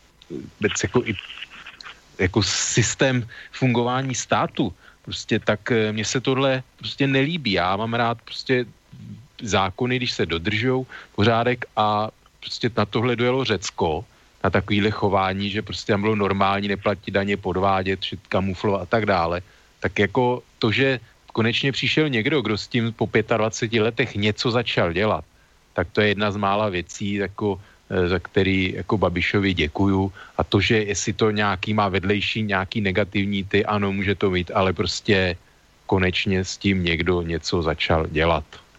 jako systém fungování státu, prostě tak mně se tohle prostě nelíbí. Já mám rád prostě zákony, když se dodržujou, pořádek, a prostě na tohle dojelo Řecko, na takovýhle chování, že prostě tam bylo normální neplatit daně, podvádět, kamuflovat a tak dále. Tak jako to, že konečně přišel někdo, kdo s tím po 25 letech něco začal dělat, tak to je jedna z mála věcí, jako, za který jako Babišovi děkuju. A to, že jestli to nějaký má vedlejší, nějaký negativní ty, ano, může to mít, ale prostě konečně s tím někdo něco začal dělat.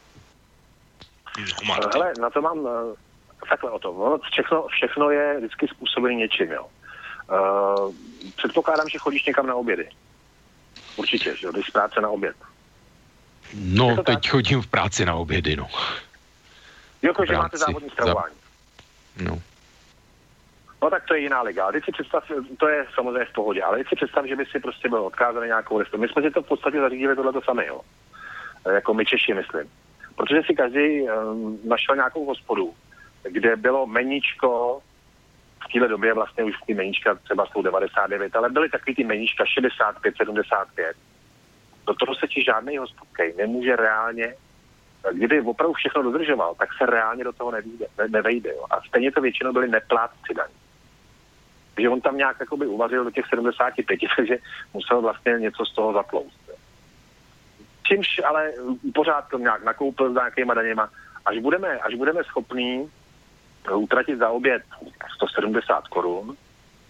Hele, na to mám takhle o tom. Všechno je vždycky způsobené něčím, jo. Předpokládám, že chodíš někam na obědy. Určitě, že jo, jdeš z práce na oběd. No, teď chodím v práci na obědy, no. Jako, že máte závodní stravování. No. No tak to je jiná liga. Ale teď si představ, to je samozřejmě v pohodě, ale teď si představ, že by si prostě byl odkázaný nějakou restauraci. My jsme si to v podstatě zařídili tohleto sami, jo. Jako my Češi, myslím. Protože si každý našel nějakou hospodu, kde bylo meníčko, v téhle době vlastně už ty meníčka třeba jsou 99, ale byly takový ty meníčka 65, 75. Do toho se ti žádnej hospodkej nemůže reálně, kdyby opravdu všechno dodržoval, tak se reálně do toho nevejde. Jo. A stejně to většinou byli neplátci daní. Takže on tam nějak jakoby uvařil do těch 75, takže musel vlastně něco z toho zatlouct. Jo. Čímž ale pořád to nějak nakoupil s nějakýma daněma. Až budeme schopní utratit za oběd 170 korun,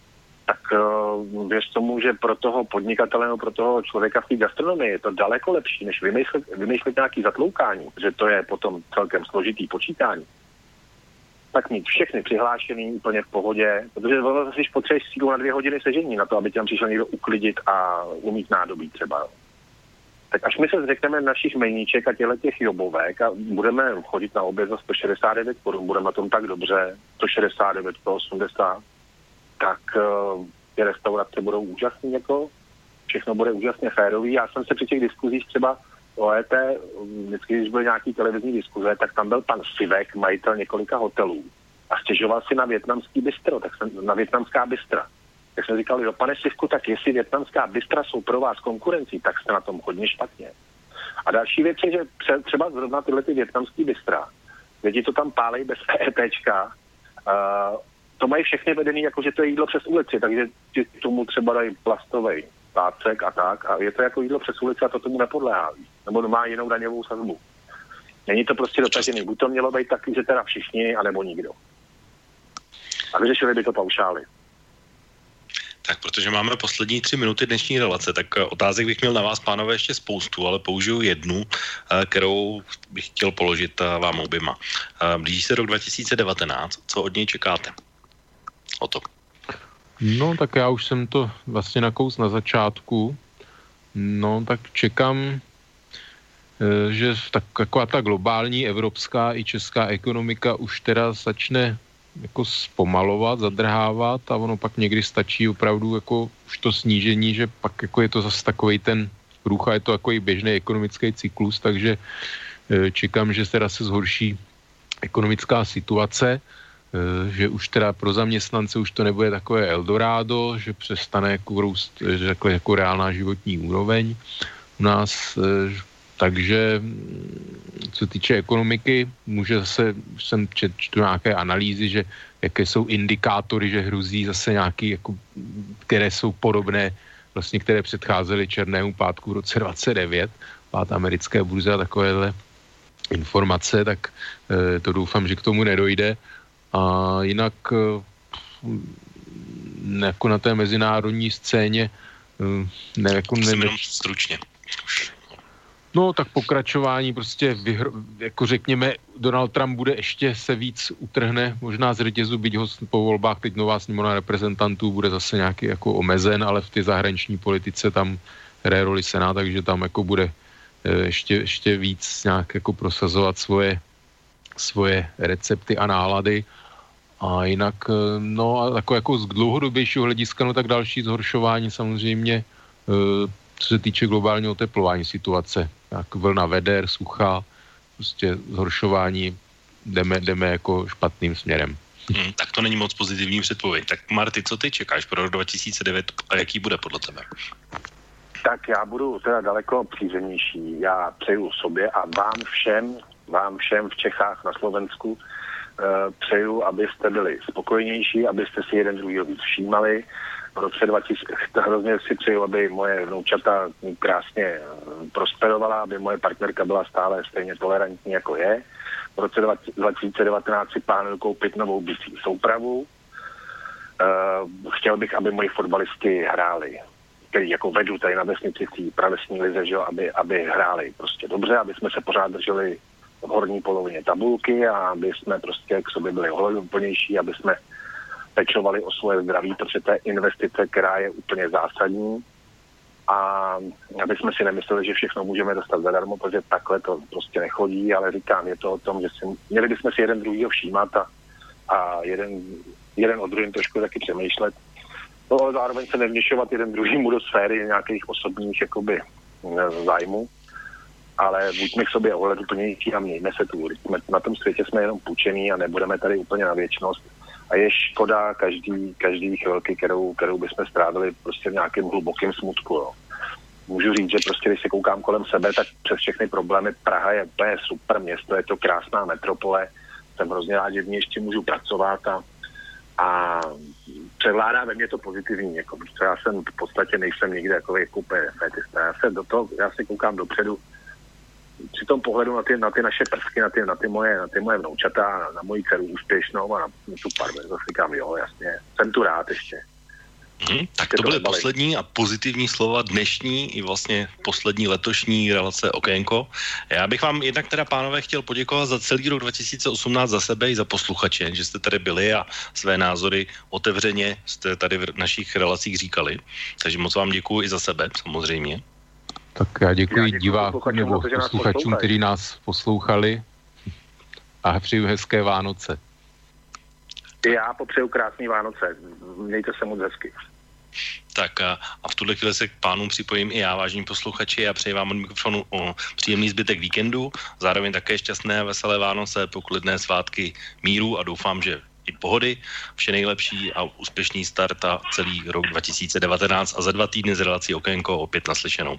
tak věř tomu, že pro toho podnikatele nebo pro toho člověka v té gastronomii je to daleko lepší, než vymýšlet nějaký zatloukání, že to je potom celkem složitý počítání. Tak mít všechny přihlášený úplně v pohodě, protože zase si potřebuješ sílu na 2 hodiny sežení na to, aby tam přišel někdo uklidit a umít nádobí třeba. Tak až my se zřekneme našich mejníček a těch jobovek a budeme chodit na oběd za 169 korun, budeme na tom tak dobře, 169, 180, tak ty restaurace budou úžasný, jako všechno bude úžasně férový. Já jsem se při těch diskuzích třeba o ET, vždycky, když byly nějaký televizní diskuze, tak tam byl pan Sivek, majitel několika hotelů a stěžoval si na vietnamský bistro, na vietnamská bistra. Tak jsme říkali, jo, pane Sivku, tak jestli vietnamská bistra jsou pro vás konkurencí, tak jste na tom hodně špatně. A další věc je, že třeba zrovna tyhle ty vietnamský bistra, lidi to tam pálej bez ETčka, to mají všechny vedený, jako že to je jídlo přes ulici, takže tomu třeba dají plastový pácek a tak, a je to jako jídlo přes ulici a to tomu nepodléhá, nebo má jinou daňovou sazbu. Není to prostě dotažený, buď to mělo být taky, že teda všichni, anebo nikdo. A vyřešili by to paušály. Tak, protože máme poslední 3 minuty dnešní relace, tak otázek bych měl na vás, pánové, ještě spoustu, ale použiju jednu, kterou bych chtěl položit vám oběma. Blíží se rok 2019, co od něj čekáte? O to. No, tak já už jsem to vlastně nakous na začátku. No, tak čekám, že taková ta globální evropská i česká ekonomika už teda začne jako zpomalovat, zadrhávat a ono pak někdy stačí opravdu jako už to snížení, že pak jako je to zase takovej ten průcha, je to takový běžný ekonomický cyklus, takže čekám, že teda se zhorší ekonomická situace, že už teda pro zaměstnance už to nebude takové Eldorado, že přestane jako růst, že jako reálná životní úroveň u nás, takže co týče ekonomiky, může zase, jsem čtu nějaké analýzy, že jaké jsou indikátory, že hrozí zase nějaký, jako, které jsou podobné, vlastně které předcházely černému pátku v roce 29, pád americké burzy a takovéhle informace, tak to doufám, že k tomu nedojde. A jinak jako na té mezinárodní scéně jenom stručně. No, tak pokračování prostě, jako řekněme, Donald Trump bude ještě se víc utrhne, možná z řetězu, byť ho po volbách teď nová sněmovna reprezentantů bude zase nějaký jako omezen, ale v té zahraniční politice tam hraje roli Senát, takže tam jako bude ještě víc nějak jako prosazovat svoje recepty a nálady. A jinak, no a jako z dlouhodobějšího hlediska, no tak další zhoršování samozřejmě, co se týče globálního oteplování situace, jak vlna veder, sucha, prostě zhoršování, jdeme jako špatným směrem. Tak to není moc pozitivní předpověď. Tak Marty, co ty čekáš pro rok 2009 a jaký bude podle tebe? Tak já budu teda daleko přízemnější. Já přeju sobě a vám všem v Čechách, na Slovensku, přeju, abyste byli spokojnější, abyste si jeden druhýho víc všímali. V roce 2000 hrozně si přeju, aby moje vnoučata krásně prosperovala, aby moje partnerka byla stále stejně tolerantní, jako je. V roce 2019 si plánuju koupit novou bicí soupravu. Chtěl bych, aby moji fotbalisti hráli, který jako vedu tady na vesnici v té pravesní lize, že, aby hráli prostě dobře, aby jsme se pořád drželi v horní polovině tabulky a aby jsme prostě k sobě byli ohleduplnější, aby jsme pečovali o svoje zdraví, protože to je investice, která je úplně zásadní a aby jsme si nemysleli, že všechno můžeme dostat zadarmo, protože takhle to prostě nechodí, ale říkám, je to o tom, že měli bychom si jeden druhýho všímat a jeden o druhém trošku taky přemýšlet. No, ale zároveň se nevměšovat jeden druhýmu do sféry nějakých osobních jakoby zájmů, ale buďme k sobě ohleduplnější a mějme se tu. Na tom světě jsme jenom půjčení a nebudeme tady úplně na věčnost. A je škoda každý chvilky, kterou bychom strávili prostě v nějakém hlubokém smutku. Jo. Můžu říct, že prostě, když se koukám kolem sebe, tak přes všechny problémy Praha je úplně super město, je to krásná metropole, jsem hrozně rád, že v ní ještě můžu pracovat a převládá ve mně to pozitivní. Jako, já jsem v podstatě nejsem nikde jako úplně fetista. Já se koukám dopředu, při tom pohledu na ty naše prsky, na ty moje vnoučata, na moji dceru úspěšnou a na tu parve, zase říkám, jo, jasně, jsem tu rád ještě. Tak to byly poslední a pozitivní slova dnešní i vlastně poslední letošní relace Okénko. Já bych vám jednak teda, pánové, chtěl poděkovat za celý rok 2018 za sebe i za posluchače, že jste tady byli a své názory otevřeně jste tady v našich relacích říkali. Takže moc vám děkuji i za sebe, samozřejmě. Tak já děkuji divákům nebo posluchačům, kteří nás poslouchali a přeju hezké Vánoce. Já popřeju krásný Vánoce. Mějte se moc hezky. Tak a v tuhle chvíli se k pánům připojím i já, vážení posluchači, a přeji vám od mikrofonu příjemný zbytek víkendu, zároveň také šťastné a veselé Vánoce, poklidné svátky míru a doufám, že i pohody, vše nejlepší a úspěšný start a celý rok 2019 a za 2 týdny z relací Okénko opět naslyšenou.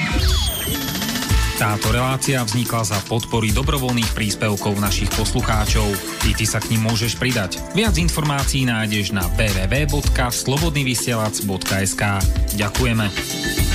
Táto relácia vznikla za podpory dobrovoľných príspevkov našich poslucháčov. I ty sa k nim môžeš pridať. Viac informácií nájdeš na www.slobodnyvysielac.sk. Ďakujeme.